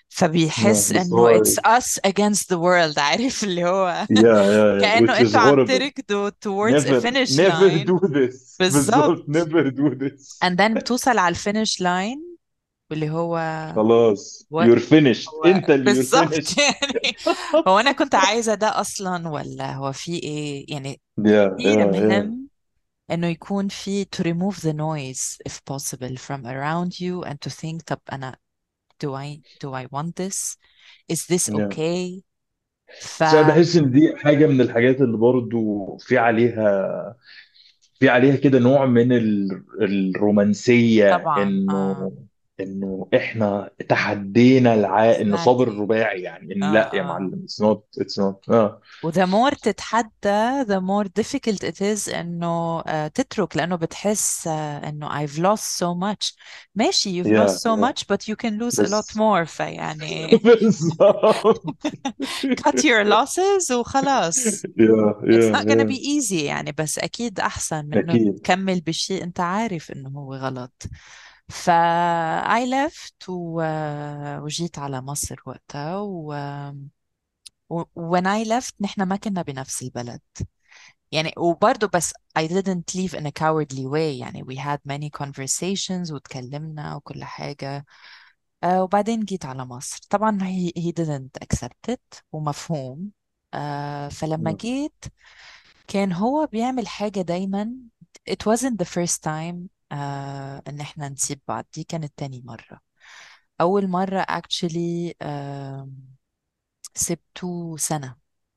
فبيحس بس انه هو it's us against the world. عارف اللي هو yeah yeah yeah كأنه which is انتوا عم horrible. تركضوا towards a never finish never line. do this. بالظبط. بالظبط never do this. and then بتوصل على الفينش لاين واللي هو خلاص what you're finished. هو انت اللي you're بالظبط finished. يعني هو انا كنت عايزة ده اصلا ولا هو في ايه يعني. yeah كتير yeah yeah مهم انه يكون في to remove the noise if possible from around you and to think طب انا do I do I want this, is this yeah okay. ف بس انا بحس ان دي حاجه من الحاجات اللي برضو في عليها في عليها كده نوع من ال- الرومانسيه، طبعا اه انه انه احنا تحدينا الع... انه صابر exactly. الرباعي، يعني ان اه لا يا اه معلم it's not it's not اه و the more تتحدى the more difficult it is انه آه، تترك، لانه بتحس آه، انه I've lost so much. ماشي you've lost يا so يا much but you can lose a lot بس more. فيعني بالظبط. cut your losses وخلاص. يا It's يا not gonna be يا easy يعني، بس أكيد أحسن من إنه اكيد. تكمل بشيء أنت عارف إنه هو غلط. ف I left و... وجيت على مصر وقتها و... و... when I left نحن ما كنا بنفس البلد يعني. وبرضه بس I didn't leave in a cowardly way يعني. we had many conversations وتكلمنا وكل حاجة. آه وبعدين جيت على مصر طبعا he, he didn't accept it ومفهوم. آه فلما جيت كان هو بيعمل حاجة دايما. it wasn't the first time آه ان احنا نسيب بعض، دي كانت تاني مرة. اول مرة actually آه سبته سنة.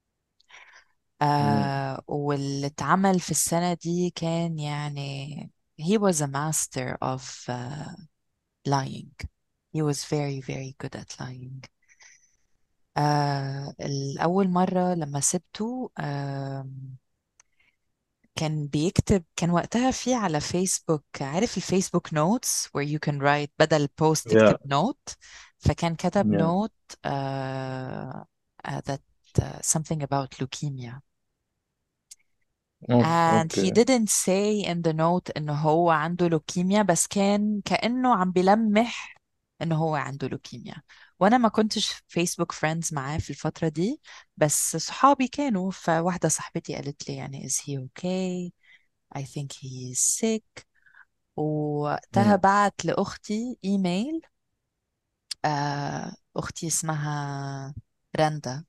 آه واللي اتعمل في السنة دي كان يعني he was a master of uh, lying. he was very very good at lying. آه الأول مرة لما سبته آه كان بيكتب، كان وقتها في على فيسبوك، عارف الفيسبوك نوتس where you can write بدل بوست تكتب يا نوت. فكان كتب يا نوت uh, uh, that uh, something about leukemia. أوه، and he اوكي. didn't say in the note إنه هو عنده لوكيميا، بس كان كأنه عم بيلمح إنه هو عنده لوكيميا. وأنا ما كنتش فيسبوك فريندز معاه في الفترة دي، بس صحابي كانوا. فواحدة صاحبتي قالت لي يعني is he okay, I think he is sick. ووقتها مم. بعت لأختي إيميل. آه أختي اسمها رندا.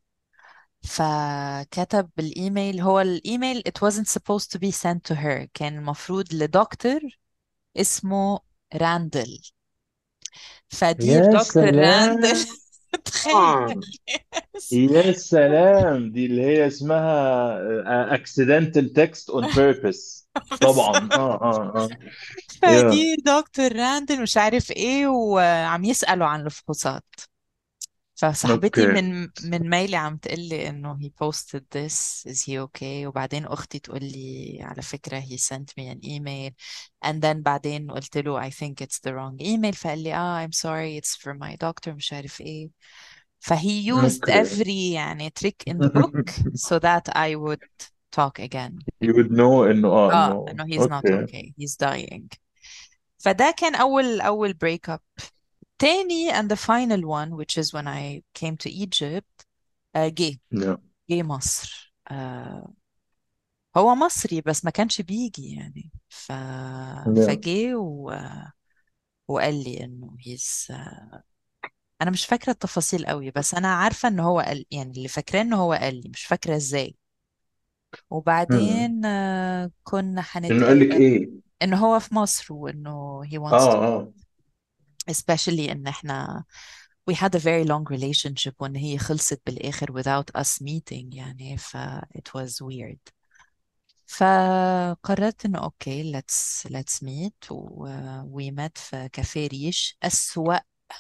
فكتب بالإيميل، هو الإيميل it wasn't supposed to be sent to her، كان المفروض لدكتور اسمه راندل. فدير يا دكتور راندل سلام. تخيل. يا سلام، دي اللي هي اسمها uh, accidental text on purpose. طبعا اه اه اه يا فدير دكتور راندل مش عارف ايه، وعم يسألوا عن الفحوصات. فصاحبتي اوكي. من من ميلي عم تقول لي انه he posted this, is he okay. وبعدين اختي تقول لي على فكرة he sent me an email. and then بعدين قلت له I think it's the wrong email. فقال لي اه I'm sorry it's for my doctor مش عارف ايه. فهي used اوكي. every يعني trick in the book so that I would talk again. you would know انه اه اه انه انه he's not اوكي. okay, he's dying. فده كان اول اول break up. تاني and the final one which is when I came to Egypt. آه، جه يا جه مصر. آه، هو مصري بس ما كانش بيجي يعني. ف... يا فجه و... وقال لي انه هيز. انا مش فاكره التفاصيل قوي، بس انا عارفه ان هو قال، يعني اللي فاكراه ان هو قال لي، مش فاكره ازاي. مم. وبعدين آه، كنا انه قال لك هنتقابل. ايه؟ انه هو في مصر وانه he اه wants to اه especially ان احنا we had a very long relationship وان هي خلصت بالاخر without us meeting يعني. ف it was weird. فقررت انه اوكي let's let's meet و we met في كافيه ريش، أسوأ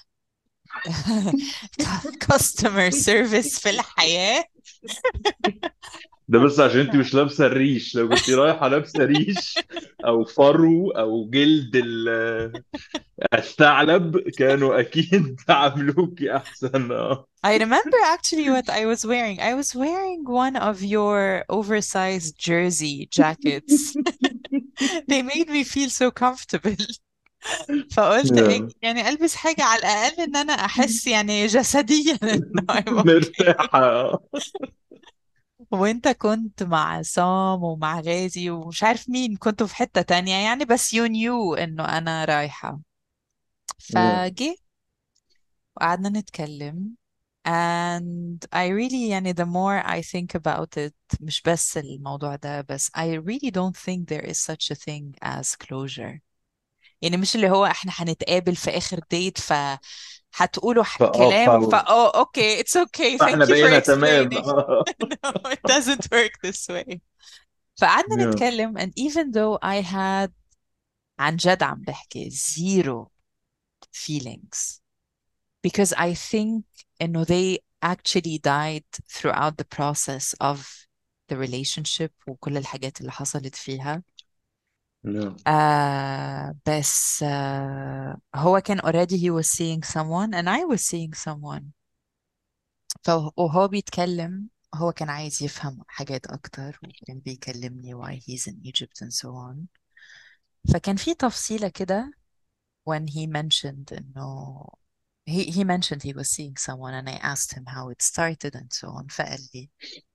customer service في الحياة. ده بس عشان انت مش لابسه الريش. لو كنت رايحه لابسه ريش او فرو او جلد ال- الثعلب كانوا اكيد عاملوكي احسن. اه I remember actually what I was wearing. I was wearing one of your oversized jersey jackets. They made me feel so comfortable. فقلت ايه yeah. يعني البس حاجة على الاقل ان انا احس يعني جسديا انه I'm okay. مرتاحة. وانت كنت مع عصام ومع غازي ومش عارف مين كنتوا في حتة تانية يعني، بس you knew انه انا رايحة. yeah. فجي وقعدنا نتكلم and I really يعني the more I think about it مش بس الموضوع ده بس I really don't think there is such a thing as closure. يعني مش اللي هو احنا هنتقابل في اخر ديت فهتقولوا ح- فاه كلام ف- فا oh okay it's okay فاحنا thank you for بقينا تمام. explaining. No, it doesn't work this way. فقعدنا yeah. نتكلم and even though I had عن جد عم بحكي zero feelings because I think إنه they actually died throughout the process of the relationship وكل الحاجات اللي حصلت فيها. yeah. آه بس آه هو كان already he was seeing someone and I was seeing someone. فهو بيتكلم هو كان عايز يفهم حاجات أكتر وكان بيكلمني why he's in Egypt and so on. فكان في تفصيلة كده when he mentioned إنه he, he mentioned he was seeing someone and I asked him how it started and so on. فقال لي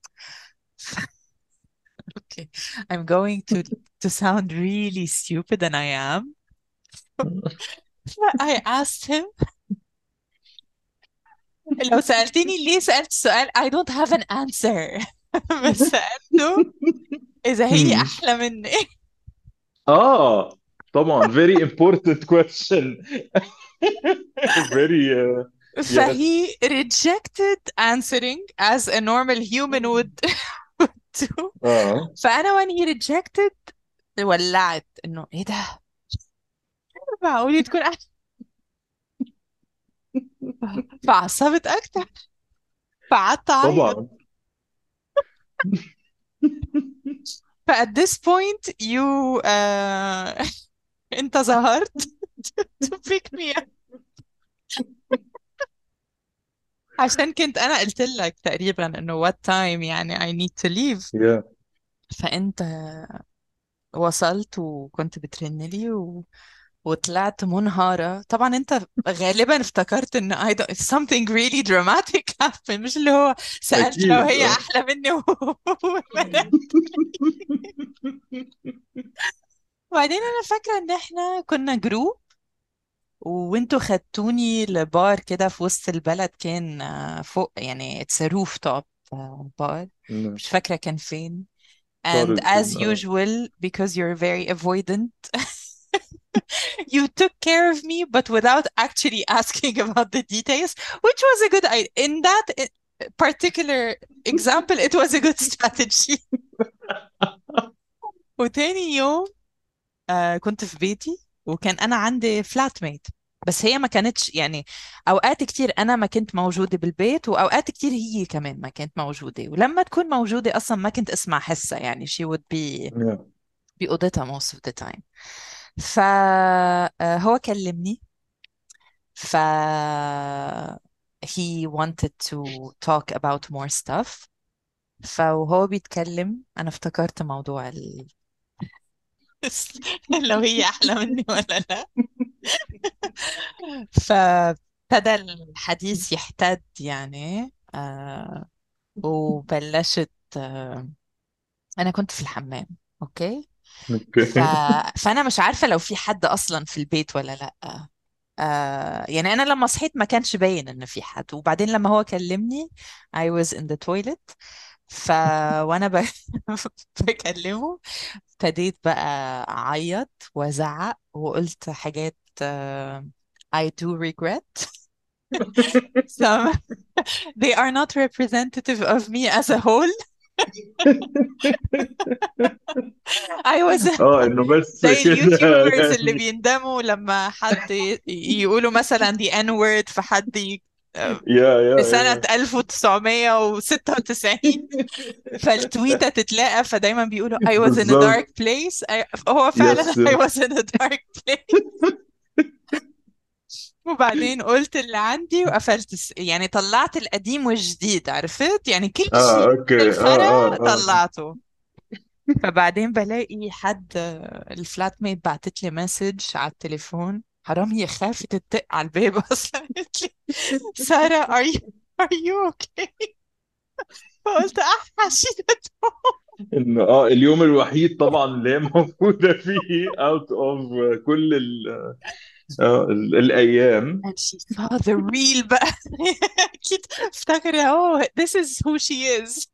okay I'm going to to sound really stupid and I am. I asked him لو سألتني ليه سألت سؤال I don't have an answer. بس سألته إذا هي Hmm. أحلى مني. اه طبعا very important question. very uh, yes. فهي rejected answering as a normal human would do. اه فأنا when he rejected ولعت إنه إيه ده معقول تكون أحلى. فعصبت أكتر فقعدت أعيط. طبعا. ف at this point you uh, أنت ظهرت to pick me up. عشان كنت أنا قلت لك تقريبا إنه what time يعني I need to leave. yeah. فأنت وصلت وكنت بترن لي و... وطلعت منهارة. طبعا انت غالبا افتكرت ان I don't... something really dramatic happened مش اللي هو سألت لو اكيد هي اه. احلى مني و... وبعدين انا فاكرة ان احنا كنا جروب وانتوا خدتوني لبار كده في وسط البلد كان آه، فوق يعني it's a rooftop آه، بار نعم. مش فاكرة كان فين. And as طارق اه. usual because you're very avoidant you took care of me but without actually asking about the details which was a good idea in that i- particular example it was a good strategy. وتاني يوم آه كنت في بيتي وكان أنا عندي فلات ميت بس هي ما كانتش يعني أوقات كتير أنا ما كنت موجودة بالبيت وأوقات كتير هي كمان ما كانت موجودة ولما تكون موجودة أصلا ما كنت أسمع حسها يعني she would be yeah. بأوضتها most of the time. فهو كلمني ف he wanted to talk about more stuff. فوهو بيتكلم أنا افتكرت موضوع ال... لو هي أحلى مني ولا لا. فابتدى الحديث يحتد يعني آه وبلشت آه أنا كنت في الحمام أوكي. ف... اوكي. فأنا مش عارفة لو في حد أصلا في البيت ولا لأ. آه يعني أنا لما صحيت ما كانش باين إن في حد وبعدين لما هو كلمني I was in the toilet. ف وأنا ب... بكلمه ابتديت بقى أعيط وأزعق وقلت حاجات آه I do regret some they are not representative of me as a whole. I was اه انه بس زي كده اليوتيوبرز اللي يعني. بيندموا لما حد ي- يقولوا مثلا the N word فحد ي... يا في يا سنة يا. ألف وتسعمية وستة وتسعين فالتويتة تتلاقى فدايما بيقولوا I was in a dark بالظبط. place. I... هو فعلا يس I يس. was in a dark place. وبعدين قلت اللي عندي وقفلت الس- يعني طلعت القديم والجديد عرفت يعني كل اه شيء اوكي اه الفرا اه اه. طلعته. فبعدين بلاقي حد، الفلات ميت بعتت لي مسج على التليفون، حرام هي خافت تدق على الباب اصلا. قالت لي سارة are you are you okay؟ فقلت احشي ده. ان اه اليوم الوحيد طبعا اللي هي موجوده فيه out of كل ال آه ال الايام. and she saw the real بقى. اكيد افتكر oh this is who she is.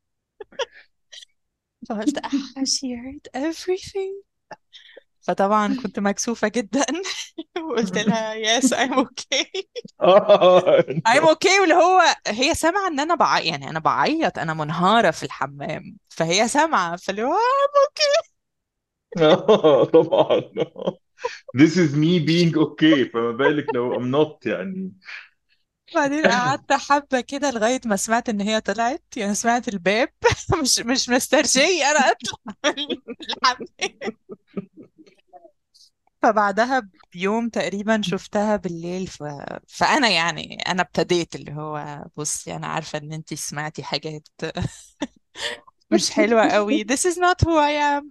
فقلت اح she heard everything. فطبعا كنت مكسوفة جدا. وقلت لها yes I'm okay. اه I'm okay. واللي هو هي سامعة ان انا بعيط، يعني انا بعيط، انا منهارة في الحمام، فهي سامعة، فاللي هو I'm okay. آه، طبعا. This is me being okay، فما بالك لو I'm not يعني. بعدين قعدت حبة كده لغاية ما سمعت ان هي طلعت، يعني سمعت الباب. مش مش مسترجية انا اطلع من الحمام. فبعدها بيوم تقريبا شفتها بالليل. ف... فانا يعني انا ابتديت اللي هو بصي انا عارفة ان انتي سمعتي حاجات مش حلوة قوي. This is not who I am.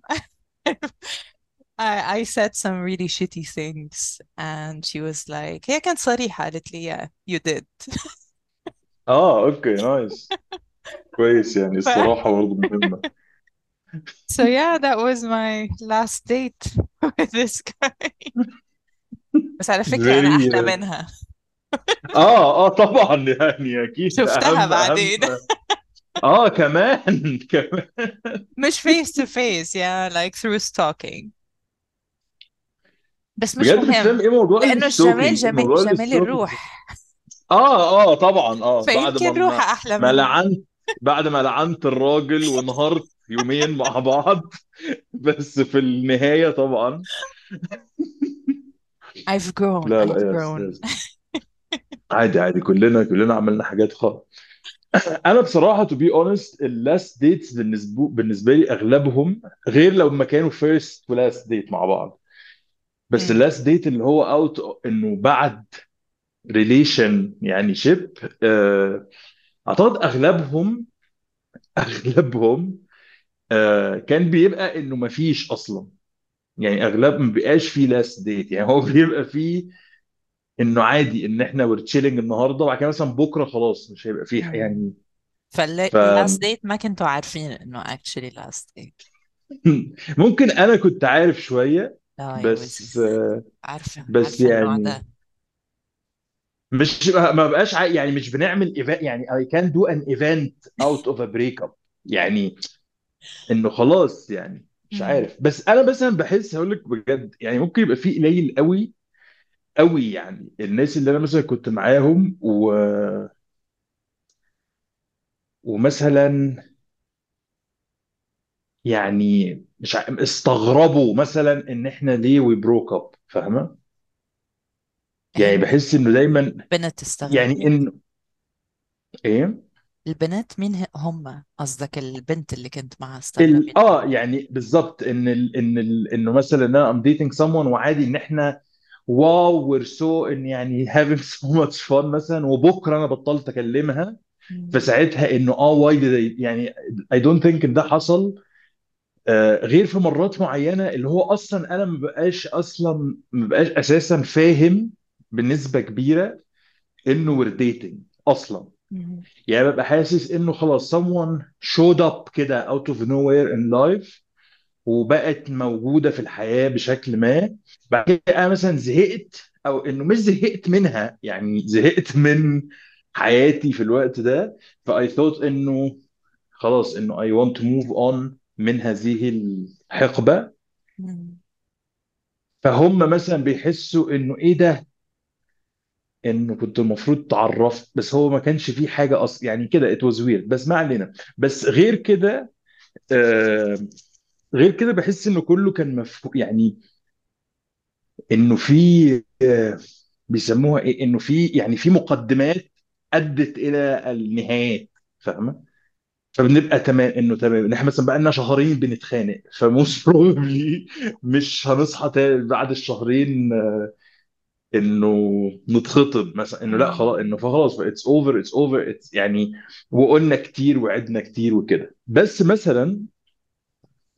I, I said some really shitty things and she was like هي كانت صريحة، قالت لي yeah you did. اه اوكي نايس، كويس يعني ف... الصراحة برضه مهمة. so yeah that was my last date with this guy. بس على فكرة أنا very أحلى منها. اه اه طبعا يعني اكيد شفتها اهم اهم. بعدين. اه كمان كمان. مش face to face yeah like through stalking. بس مش بجد مش فاهم مهم ايه موضوع لأنه الجمال الستوكينج، جميل، موضوع جمال الستوكينج. الروح. اه اه طبعا اه بعد ما فيمكن ما روحها أحلى ما مني. لعنت، بعد ما لعنت الراجل وانهارت يومين مع بعض. بس في النهاية طبعا. I've grown لا لا I've يا grown. استاذ، عادي عادي، كلنا كلنا عملنا حاجات خالص. انا بصراحه تو بي اونست اللاست ديتس بالنسبه بالنسبه لي اغلبهم، غير لو ما كانوا فيرست ولاست ديت مع بعض، بس مم. اللاست ديت اللي هو اوت انه بعد ريليشن يعني شيب، اعتقد اغلبهم اغلبهم آه، كان بيبقى انه ما فيش اصلا، يعني اغلب ما بيبقاش فيه لاست ديت، يعني هو بيبقى فيه انه عادي ان احنا ور تشيلنج النهارده وبعد كده مثلا بكره خلاص مش هيبقى فيه مم. يعني. ف فاللاست ديت ما كنتوا عارفين انه actually last date. ممكن انا كنت عارف شويه، لا يا بس وزي، عارفة بس عارفة النوع يعني ده. مش ما بقاش عا- يعني مش بنعمل ايفنت، يعني I can do an event out of a breakup، يعني انه خلاص يعني مش مم. عارف. بس انا مثلا بحس هقول لك بجد، يعني ممكن يبقى في قليل قوي قوي يعني الناس اللي انا مثلا كنت معاهم و... ومثلا يعني مش ع... استغربوا مثلا ان احنا ليه we broke up، فاهمه؟ يعني هن بحس انه دايما بنت يعني استغربت. انه ايه البنات مين ه- هم؟ قصدك البنت اللي كنت معاها ال... استغربت اه ليه؟ يعني بالظبط ان ال... ان ال... انه مثلا انا I'm dating someone وعادي ان احنا واو we're so ان يعني having so much fun مثلا، وبكره انا بطلت اكلمها، مم. فساعتها انه اه why did I يعني I don't think ان ده حصل. آه غير في مرات معينه اللي هو اصلا انا ما بقاش اصلا ما بقاش اساسا فاهم بنسبه كبيره انه we're dating اصلا، مم. يعني ببقى حاسس انه خلاص someone showed up كده out of nowhere in life وبقت موجودة في الحياة بشكل ما. بعد كده أنا مثلا زهقت، أو إنه مش زهقت منها، يعني زهقت من حياتي في الوقت ده. فأي ثوت إنه خلاص إنه I want to move on من هذه الحقبة. مم. فهم مثلا بيحسوا إنه إيه ده، إنه كنت المفروض تعرفت، بس هو ما كانش فيه حاجة أصلا يعني كده it was weird، بس ما علينا. بس غير كده آه غير كده بحس إنه كله كان مفهوم، يعني انه في آه، بيسموها ايه، انه في يعني في مقدمات ادت الى النهايات، فاهمه؟ فبنبقى تمام انه تمام ان احنا مثلا بقى لنا شهرين بنتخانق، فموست بروبلي مش هنصحى تاني بعد الشهرين آه، انه نتخطب مثلا، انه لا خلاص، مم. انه فخلاص اتس اوفر اتس اوفر يعني. وقلنا كتير وعدنا كتير وكده. بس مثلا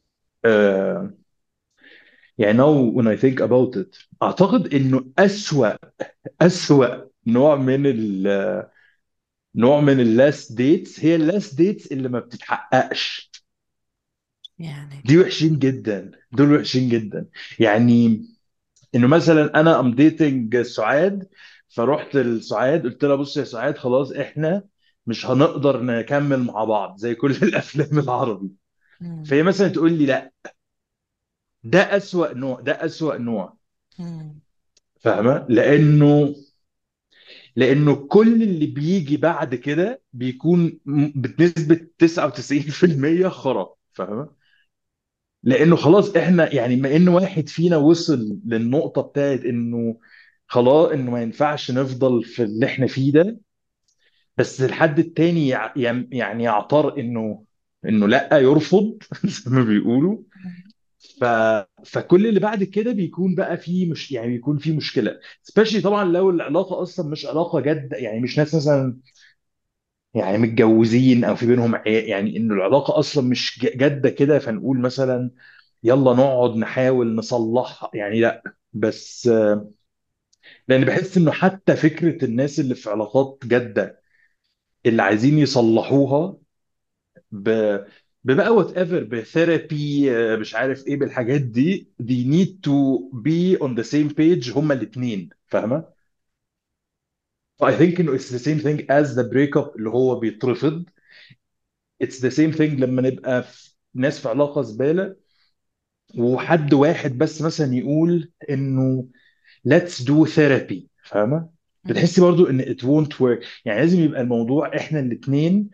آه يعني now when I think about it اعتقد انه اسوأ اسوأ نوع من ال نوع من اللاست ديتس هي اللاست ديتس اللي ما بتتحققش. يعني دي وحشين جدا، دول وحشين جدا. يعني انه مثلا انا ام ديتنج سعاد، فرحت لسعاد قلت لها بص يا سعاد خلاص احنا مش هنقدر نكمل مع بعض زي كل الافلام العربي. مم. فهي مثلا تقول لي لا. ده اسوأ نوع، ده اسوأ نوع. مم. فاهمه؟ لانه لانه كل اللي بيجي بعد كده بيكون م- بنسبة تسعة وتسعين في المية خرا. فاهمه؟ لانه خلاص احنا يعني ما ان واحد فينا وصل للنقطة بتاعت انه خلاص انه ما ينفعش نفضل في اللي احنا فيه ده، بس الحد التاني يع- يم- يعني يعتر انه انه لا يرفض زي ما بيقولوا. ف... فكل اللي بعد كده بيكون بقى فيه مش يعني بيكون فيه مشكله، سبيشلي طبعا لو العلاقه اصلا مش علاقه جد، يعني مش ناس مثلا يعني متجوزين او في بينهم عيال، يعني انه العلاقه اصلا مش ج- جاده كده، فنقول مثلا يلا نقعد نحاول نصلحها يعني لا. بس آه، لان بحس انه حتى فكره الناس اللي في علاقات جاده اللي عايزين يصلحوها ب ببقى وات ايفر بثيرابي مش عارف ايه بالحاجات دي they need to be on the same page هما الاثنين. فاهمه؟ I think انه it's the same thing as the breakup اللي هو بيترفض. It's the same thing لما نبقى في ناس في علاقه زباله وحد واحد بس مثلا يقول انه let's do therapy. فاهمه؟ مم. بتحسي برضو ان it won't work. يعني لازم يبقى الموضوع احنا الاثنين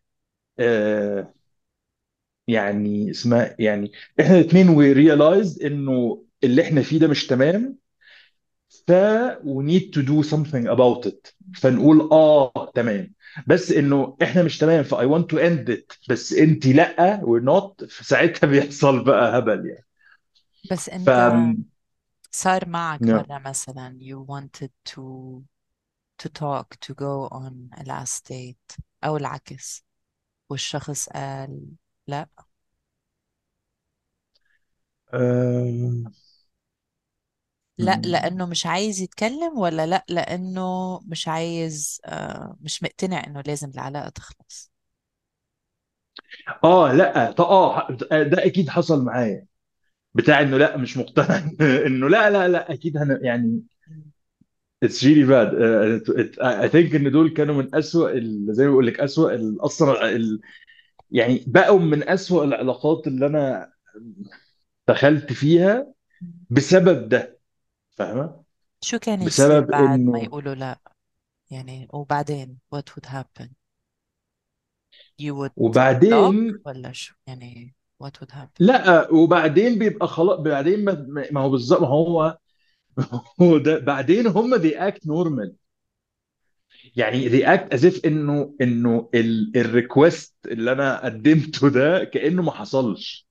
يعني اسمها يعني احنا الاثنين we realized انه اللي احنا فيه ده مش تمام، ف we need to do something about it. فنقول اه تمام، بس انه احنا مش تمام ف I want to end it بس انت لا we're not، فساعتها بيحصل بقى هبل يعني. بس ف انت صار معك yeah. مرة مثلا you wanted to to talk to go on a last date أو العكس والشخص قال لا؟ آم، لا لأنه مش عايز يتكلم، ولا لا لأنه مش عايز آه مش مقتنع إنه لازم العلاقة تخلص؟ اه لا طب اه ده اكيد حصل معايا، بتاع انه لا مش مقتنع انه لا لا لا اكيد هن يعني مم. It's really bad. Uh, it, it, I think ان دول كانوا من اسوأ ال- زي ما بقول لك اسوأ ال- اصلا ال- يعني بقوا من اسوأ العلاقات اللي انا دخلت فيها بسبب ده. فاهمة؟ شو كان يصير بسبب بعد ما انه يقولوا لا؟ يعني وبعدين what would happen? You would block وبعدين ولا شو يعني what would happen؟ لا وبعدين بيبقى خلاص بعدين ما, ما هو بالظبط ما هو هو ده بعدين هم they act normal. يعني they act as if انه انه الريكوست اللي انا قدمته ده كأنه ما حصلش.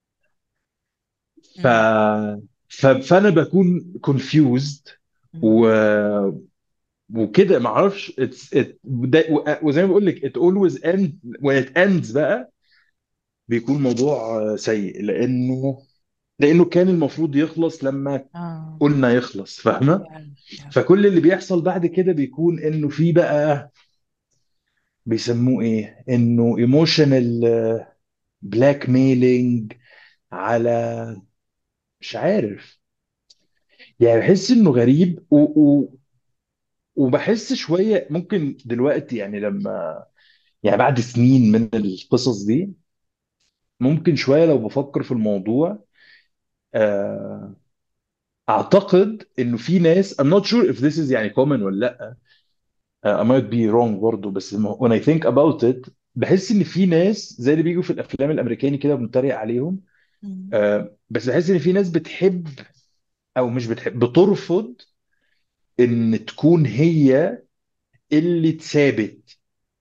ف... مم. ف... فانا بكون confused مم. و... وكده ما اعرفش it's... it... ده... و- وزي ما بقول لك it always ends when it ends بقى بيكون موضوع سيء، لانه لانه كان المفروض يخلص لما اه قلنا يخلص. فاهمه؟ yeah. Yeah. فكل اللي بيحصل بعد كده بيكون انه في بقى بيسموه ايه انه emotional blackmailing على مش عارف. يعني بحس انه غريب و... و... وبحس شويه ممكن دلوقتي يعني لما يعني بعد سنين من القصص دي ممكن شويه لو بفكر في الموضوع آه، اعتقد انه في ناس I'm not sure if this is يعني common ولا لا. آه، I might be wrong برضه، بس لما- when I think about it بحس ان في ناس زي اللي بيجوا في الافلام الامريكاني كده بنتريق عليهم. مم. آه، بس بحس ان في ناس بتحب او مش بتحب بترفض ان تكون هي اللي تثابت.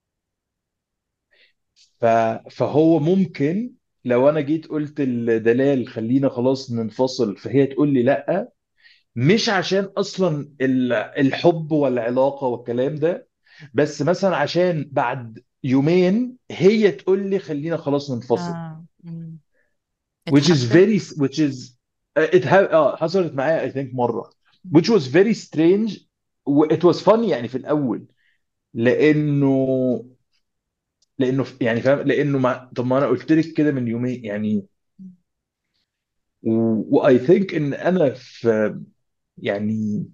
ف... فهو ممكن لو انا جيت قلت لدلال خلينا خلاص ننفصل فهي تقول لي لا، مش عشان اصلا ال- الحب والعلاقه والكلام ده، بس مثلا عشان بعد يومين هي تقول لي خلينا خلاص ننفصل. اه مم. which is اتحدد. very which is uh, it ha اه حصلت معايا I think مرة which was very strange و it was funny يعني في الأول لأنه لأنه يعني فاهم لأنه مع... طب ما أنا قلت لك كده من يومين يعني و I think إن أنا في يعني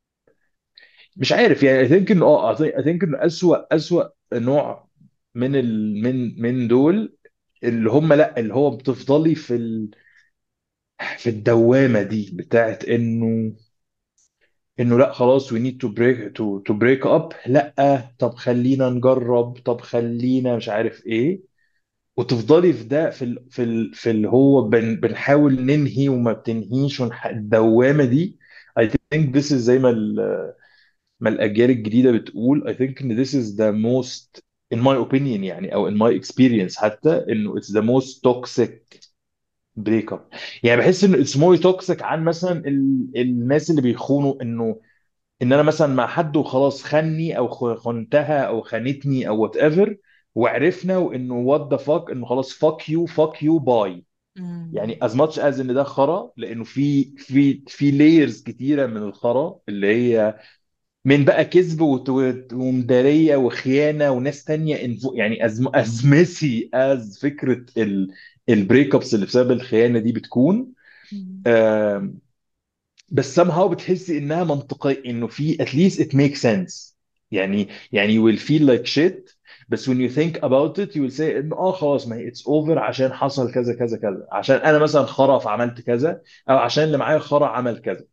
مش عارف يعني I think إنه اه I think, I think إنه أسوأ أسوأ نوع من ال من من دول اللي هم لا اللي هو بتفضلي في ال في الدوامة دي بتاعت إنه انه لا خلاص we need to break to to break up لا طب خلينا نجرب طب خلينا مش عارف ايه وتفضلي في ده في ال في ال في اللي هو بن بنحاول ننهي وما بتنهيش ونح- الدوامة دي I think this is زي ما ال- ما الأجيال الجديدة بتقول I think إن this is the most in my opinion يعني أو in my experience حتى إنه it's the most toxic break up يعني بحس إنه it's more toxic عن مثلا ال الناس اللي بيخونوا إنه ان انا مثلا مع حد وخلاص خني او خ- خنتها او خانتني او وات ايفر وعرفنا وانه وات ذا فاك انه خلاص فاك يو فاك يو باي مم. يعني as much as ان ده خرا لانه في في في لايرز كتيره من الخرا اللي هي من بقى كذب وت- وت- ومداريه وخيانه وناس تانية انفو يعني از از ميسي از فكره البريك ابس اللي بسبب الخيانه دي بتكون مم. بس somehow بتحسي انها منطقية انه في at least it makes sense يعني يعني you will feel like shit بس when you think about it you will say انه اه خلاص ما هي it's over عشان حصل كذا كذا كذا عشان انا مثلا خرا فعملت كذا او عشان اللي معايا خرا عمل كذا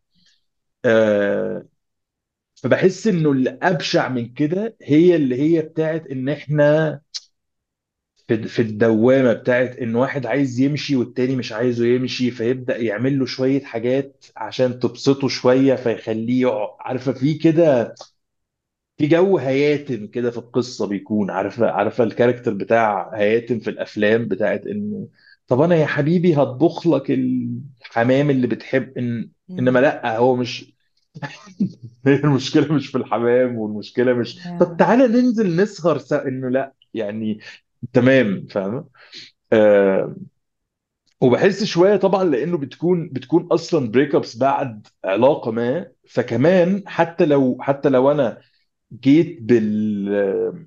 آه فبحس انه اللي ابشع من كده هي اللي هي بتاعت ان احنا في في الدوامه بتاعت ان واحد عايز يمشي والتاني مش عايزه يمشي فيبدا يعمل له شويه حاجات عشان تبسطه شويه فيخليه يقع عارفه في كده في جو هياتم كده في القصه بيكون عارفه عارفه الكاركتر بتاع هياتم في الافلام بتاعت انه طب انا يا حبيبي هطبخ لك الحمام اللي بتحب إن انما مم. لا هو مش هي المشكله مش في الحمام والمشكله مش طب Yeah. تعالى ننزل نسهر سوا انه لا يعني تمام فاهمه آه وبحس شويه طبعا لانه بتكون بتكون اصلا بريك ابس بعد علاقه ما فكمان حتى لو حتى لو انا جيت بال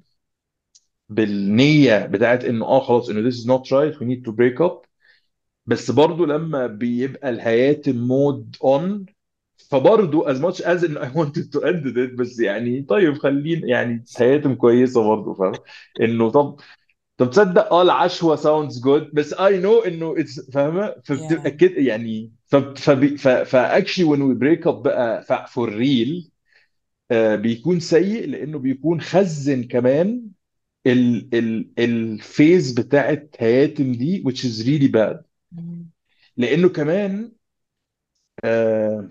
بالنيه بتاعت انه اه خلاص انه this is not right we need to break up بس برضو لما بيبقى الهياتم مود اون فبرضو as much as in I wanted to end it بس يعني طيب خلينا يعني هياتم كويسه برضو فاهم انه طب طب تصدق اه العشوة sounds good بس I know انه it's فاهمة فبتبقى Yeah. كده يعني ف فبي- ف ف actually when we break up بقى ف for real آه بيكون سيء لانه بيكون خزن كمان ال ال الفيز بتاعت هياتم دي which is really bad مم. لانه كمان آه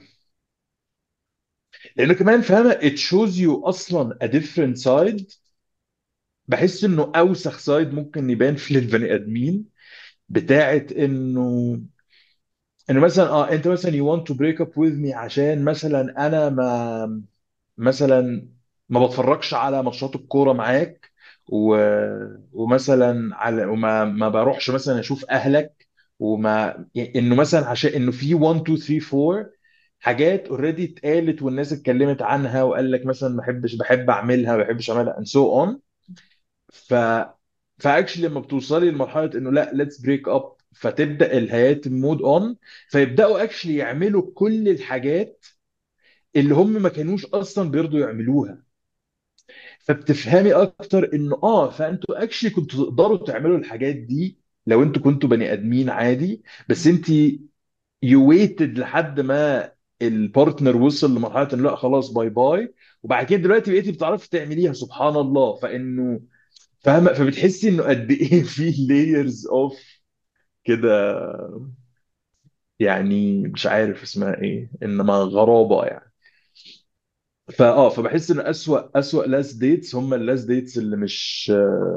لانه كمان فاهمة it shows you اصلا a different side بحس انه اوسخ سايد ممكن يبان في البني ادمين مم. بتاعت انه انه مثلا اه انت مثلا you want to break up with me عشان مثلا انا ما مثلا ما بتفرجش على ماتشات الكوره معاك و... ومثلا على وما ما بروحش مثلا اشوف اهلك وما يعني انه مثلا عشان انه في واحد اتنين تلاته اربعة حاجات اوريدي اتقالت والناس اتكلمت عنها وقال لك مثلا ما بحبش بحب اعملها ما بحبش اعملها and so on ف فاكشلي لما بتوصلي لمرحله انه لا ليتس بريك اب فتبدا الهيات مود اون فيبداوا اكشلي يعملوا كل الحاجات اللي هم ما كانوش اصلا بيرضوا يعملوها فبتفهمي اكتر انه اه فانتوا اكشلي كنتوا تقدروا تعملوا الحاجات دي لو انتوا كنتوا بني ادمين عادي بس مم. انت يو ويتد لحد ما البارتنر وصل لمرحله انه لا خلاص باي باي وبعد كده دلوقتي بقيتي بتعرفي تعمليها سبحان الله فانه فاهمه فبتحسي انه قد ايه في لايرز اوف كده يعني مش عارف اسمها ايه انما غرابه يعني فاه فبحس ان اسوأ اسوأ لاست ديتس هم اللاست ديتس اللي مش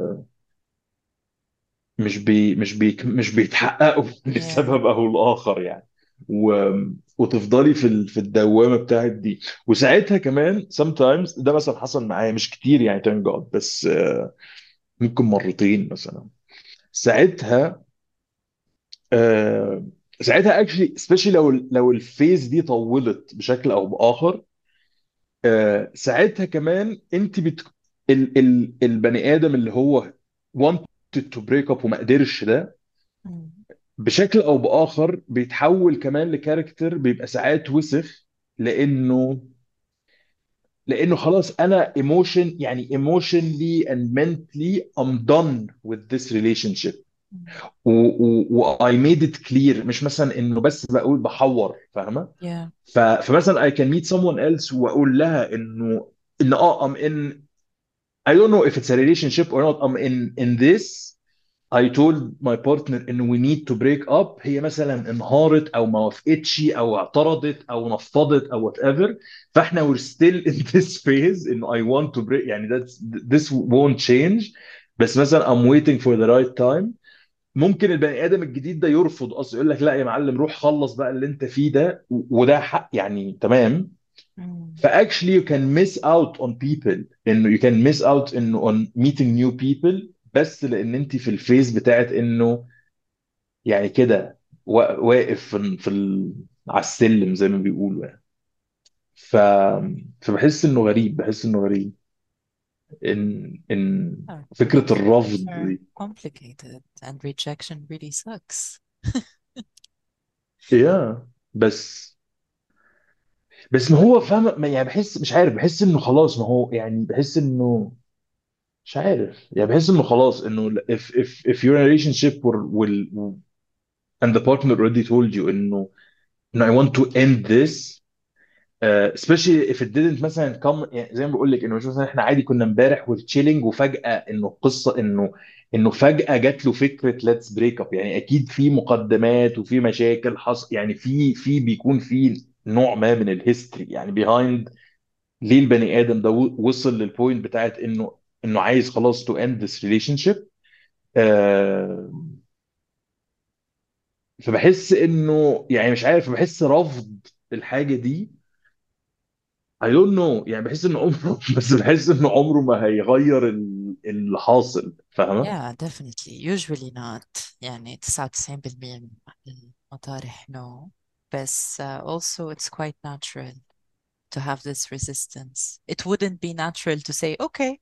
مش بي مش بي مش بيتحققوا Yeah. لسبب او لاخر يعني و... وتفضلي في ال... في الدوامه بتاعت دي وساعتها كمان sometimes ده مثلا حصل معايا مش كتير يعني thank God بس آه، ممكن مرتين مثلا ساعتها آه ساعتها اكشلي سبيشالي لو لو الفيز دي طولت بشكل او باخر، آه ساعتها كمان انت بت ال ال البني ادم اللي هو wanted to break up وما قدرش ده، مم. بشكل او باخر بيتحول كمان لكاركتر بيبقى ساعات وسخ، لانه لانه خلاص انا emotion يعني emotionally and mentally I'm done with this relationship. مم. و, و, و I made it clear، مش مثلا انه بس بقول بحور، فاهمه؟ yeah ف, فمثلا I can meet someone else واقول لها انه ان اه I'm in I don't know if it's a relationship or not I'm in in this. I told my partner ان we need to break up، هي مثلا انهارت او ما وافقتش او اعترضت او نفضت او whatever، فاحنا we're still in this phase انه I want to break، يعني that's this won't change. بس مثلا I'm waiting for the right time. ممكن البني ادم الجديد ده يرفض اصلا، يقول لك لا يا معلم روح خلص بقى اللي انت فيه ده، و- وده حق يعني، تمام. مم. فاكشلي you can miss out on people، انه you can miss out انه on meeting new people، بس لان انت في الفيز بتاعت انه يعني كده وا- واقف في في ال... على السلم زي ما بيقولوا يعني. ف... فبحس انه غريب، بحس انه غريب ان ان Yeah, فكرة relationships الرفض are دي. complicated and rejection really sucks. يا بس بس ما هو فاهم، ما- يعني بحس مش عارف، بحس انه خلاص، ما هو يعني بحس انه مش عارف، يعني بحس انه خلاص انه if if if you're in a relationship will will and the partner already told you انه انه I want to end this. Uh, especially if it didn't مثلا come، يعني زي ما بقول لك انه مش مثلا احنا عادي كنا امبارح والتشيلينج وفجأة انه القصة انه انه فجأة جات له فكرة let's break up، يعني اكيد في مقدمات وفي مشاكل حصل، يعني في في بيكون في نوع ما من الهيستوري يعني behind ليه البني ادم ده و- وصل للبوينت بتاعت انه انه عايز خلاص to end this relationship. آه فبحس انه يعني مش عارف، بحس رفض الحاجة دي I don't know، يعني بحس ان عمره بس بحس ان عمره ما هيغير ال- اللي حاصل، فاهمة؟ Yeah, definitely. Usually not. يعني تسعة وتسعين بالمية من المطارح no. بس uh, also it's quite natural to have this resistance. It wouldn't be natural to say okay.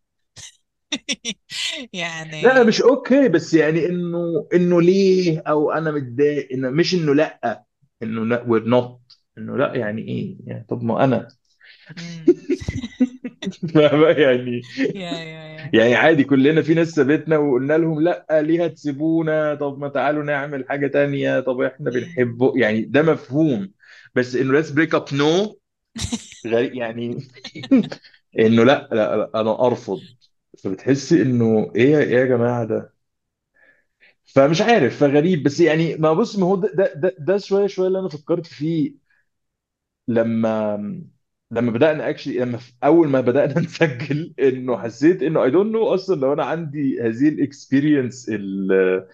لا يعني مش اوكي، بس يعني انه انه ليه، او انا متضايق، انه مش انه لا، انه لا we're not، انه لا يعني ايه يعني، طب ما انا mm. فاهمة يعني؟ Yeah, yeah, yeah. يعني عادي كلنا في ناس سابتنا وقلنا لهم لا ليه هتسيبونا، طب ما تعالوا نعمل حاجة تانية، طب احنا Mm. بنحبه، يعني ده مفهوم. بس انه let's break up no، غريب يعني. انه لا لا, لا انا ارفض. فبتحسي انه ايه ايه يا جماعة ده؟ فمش عارف، فغريب. بس يعني ما بص، ما هو ده ده ده, ده شوية شوية اللي انا فكرت فيه لما لما بدأنا اكشلي، لما في اول ما بدأنا نسجل، انه Mm. حسيت انه I don't know اصلا لو انا عندي هذه الاكسبيرينس ال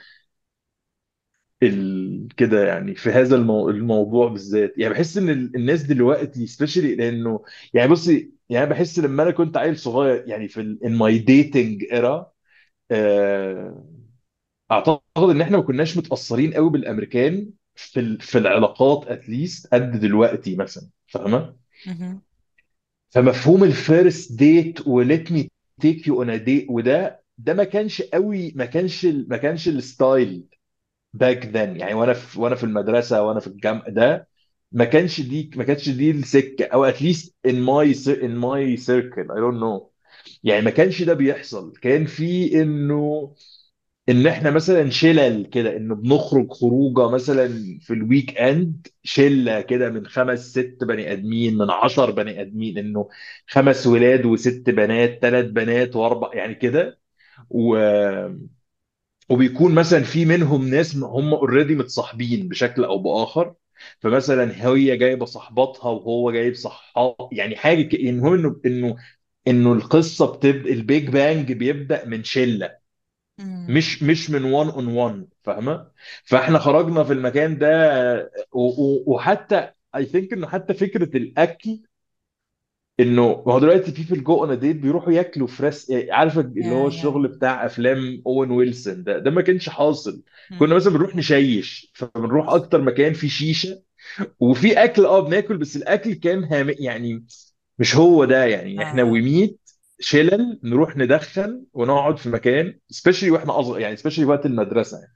ال كده يعني في هذا المو... الموضوع بالذات. يعني بحس ان ال- الناس دلوقتي سبيشالي لانه يعني بصي، يعني بحس لما انا كنت عيل صغير يعني في ال in my dating era، آه، اعتقد ان احنا ما كناش متأثرين قوي بالامريكان في ال... في العلاقات اتليست قد دلوقتي مثلا، فاهمة؟ Mhm. فمفهوم الفيرست ديت وليت مي تيك يو اون ا ديت، وده ده ما كانش قوي، ما كانش ال- ما كانش الستايل باك ذن، يعني وانا في وانا في المدرسه وانا في الجامعه ده ما كانش دي ما كانتش دي السكه، او اتليست ان ماي ان ماي سيركل اي دونت نو. يعني ما كانش ده بيحصل، كان في انه ان احنا مثلا شلل كده، انه بنخرج خروجه مثلا في الويك اند شله كده من خمس ست بني ادمين، من عشر بني ادمين، انه خمس ولاد وست بنات، ثلاث بنات واربع يعني كده. و... وبيكون مثلا في منهم ناس هم اوريدي متصاحبين بشكل او باخر، فمثلا هي جايبه صاحباتها وهو جايب صحاب، يعني حاجه ك... المهم انه انه انه القصه بتبدا، البيج بانج بيبدا من شله، Mm. مش مش من وان اون وان، فاهمه؟ فاحنا خرجنا في المكان ده، و- و- وحتى اي ثينك انه حتى فكره الاكل انه ما هو دلوقتي people go on a date بيروحوا ياكلوا فريس، يعني عارفه اللي هو يا يا الشغل بتاع افلام اوين ويلسون ده ده ما كانش حاصل. كنا مم. مثلا بنروح نشيش، فبنروح اكتر مكان فيه شيشه وفي اكل، اه بناكل، بس الاكل كان هام يعني مش هو ده. يعني احنا اه وميت شلل نروح ندخن ونقعد في مكان سبيشالي واحنا اصغر، يعني سبيشالي وقت المدرسه يعني.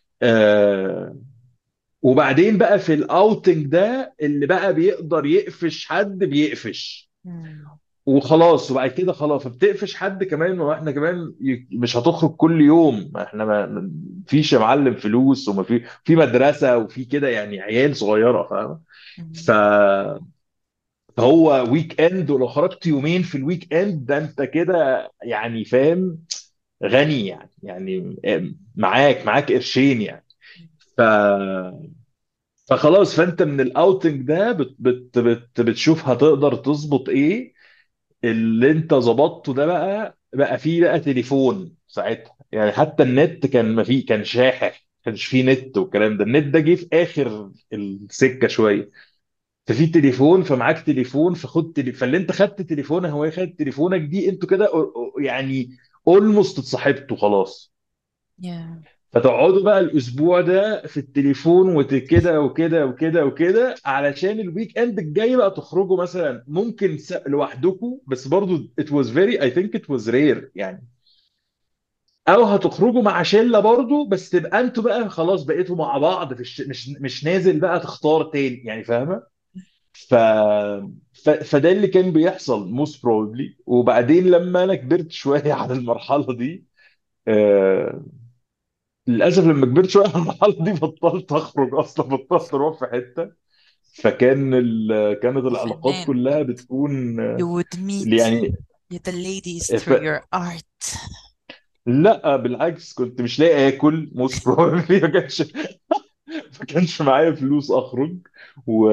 آه وبعدين بقى في الاوتنج ده اللي بقى بيقدر يقفش حد بيقفش مم. وخلاص. وبعد كده خلاص فبتقفش حد كمان، واحنا كمان ي- مش هتخرج كل يوم، احنا ما ما- فيش يا معلم فلوس، وما في في مدرسه وفي كده، يعني عيال صغيره فاهم. ف مم. فهو ويك اند، ولو خرجت يومين في الويك اند ده انت كده يعني فاهم غني يعني، يعني معاك معاك قرشين يعني. ف فخلاص فانت من الاوتنج ده بت بت بت بتشوف هتقدر تظبط ايه. اللي انت ظبطته ده بقى بقى فيه بقى تليفون ساعتها، يعني حتى النت كان ما فيه، كان شاحح، ما كانش فيه نت والكلام ده. النت ده جه في اخر السكه شويه. ففي تليفون، فمعاك تليفون، فخد تلي... فاللي انت خدت تليفونه هو خد تليفونك دي، انتوا كده أو- يعني اولموست اتصاحبتوا خلاص. يا فتقعدوا بقى الاسبوع ده في التليفون وكده وكده وكده وكده، علشان الويك اند الجاي بقى تخرجوا مثلا ممكن س- لوحدكم، بس برضو it was very I think it was rare يعني. او هتخرجوا مع شله برضو، بس تبقى انتوا بقى خلاص بقيتوا مع بعض في الش... مش مش نازل بقى تختار تاني يعني فاهمه. ف... ف... فده اللي كان بيحصل موست بروبلي. وبعدين لما انا كبرت شويه على المرحله دي، آه... للاسف لما كبرت شويه على المرحله دي بطلت اخرج اصلا، بطلت اروح في حته. فكان ال... كانت يا العلاقات فنان. كلها بتكون You آه، would meet يعني the ladies ف... through your art. لا بالعكس كنت مش لاقي اكل موست بروبلي. ما كانش ما كانش معايا فلوس اخرج. و...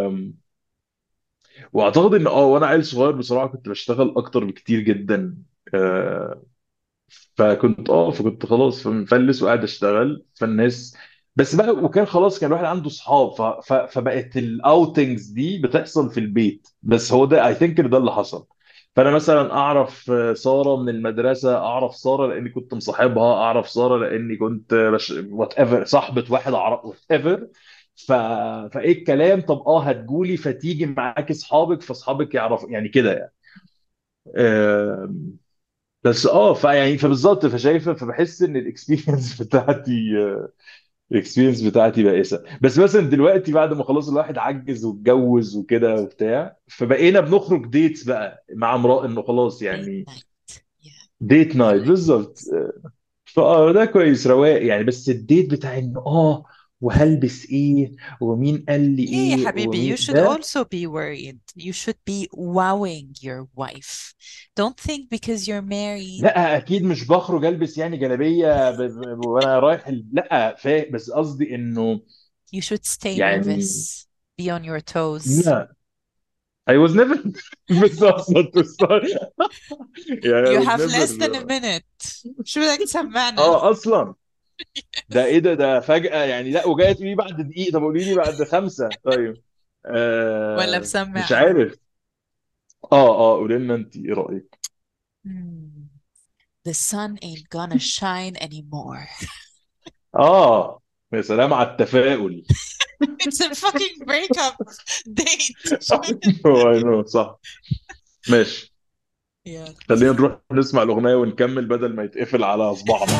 واعتقد ان اه وانا عيل صغير بصراحه كنت بشتغل اكتر بكتير جدا. آه، فكنت اه فكنت خلاص مفلس وقاعد اشتغل فالناس. بس بقى وكان خلاص كان الواحد عنده صحاب، ف... ف... فبقت الاوتنجز دي بتحصل في البيت. بس هو ده اي ثينك ده اللي حصل. فانا مثلا اعرف آه، ساره من المدرسه، اعرف ساره لاني كنت مصاحبها، اعرف ساره لاني كنت بش... وات ايفر صاحبه واحد اعرف وات ايفر. ف... فايه الكلام، طب اه هتقولي فتيجي معاكي اصحابك، فاصحابك يعرفوا يعني كده يعني. آه، بس اه فيعني فبالظبط فشايفه فبحس ان الاكسبيرينس بتاعتي الاكسبيرينس بتاعتي بائسه. بس مثلا دلوقتي بعد ما خلاص الواحد عجز واتجوز وكده وبتاع، فبقينا بنخرج ديتس بقى مع امرأة انه خلاص Date يعني night. Yeah, ديت I نايت like بالظبط. it. فاه ده كويس رواق يعني. بس الديت بتاع انه اه وهلبس ايه ومين قال لي ليه يا ايه حبيبي? You ومين should ده. also be worried. You should be wowing your wife. Don't think because you're married لا اكيد مش بخرج البس يعني جلابيه ب... ب... وانا رايح ال... لا فا بس قصدي انه you should stay يعني nervous. Be on your toes. لا I was never بس اصلا to start يعني I You was have never. less than a minute. شو بدك تسمعنا؟ اه اصلا ده ايه ده ده فجأة يعني. لا وجايه تقولي بعد دقيقة، طب قولي لي بعد خمسة طيب. ولا آه مش بسمع؟ عارف. اه اه قولي لنا انت ايه رأيك. Hmm. The sun ain't gonna shine anymore. اه يا سلام على التفاؤل. It's a fucking breakup date. I know صح. ماشي. Yeah. خلينا نروح نسمع الأغنية ونكمل بدل ما يتقفل على صباعنا.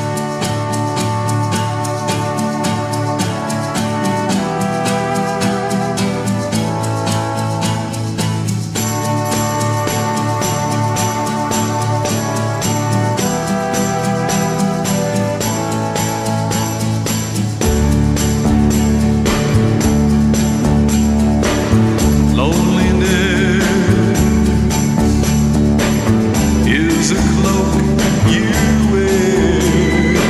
Loneliness is a cloak you wear.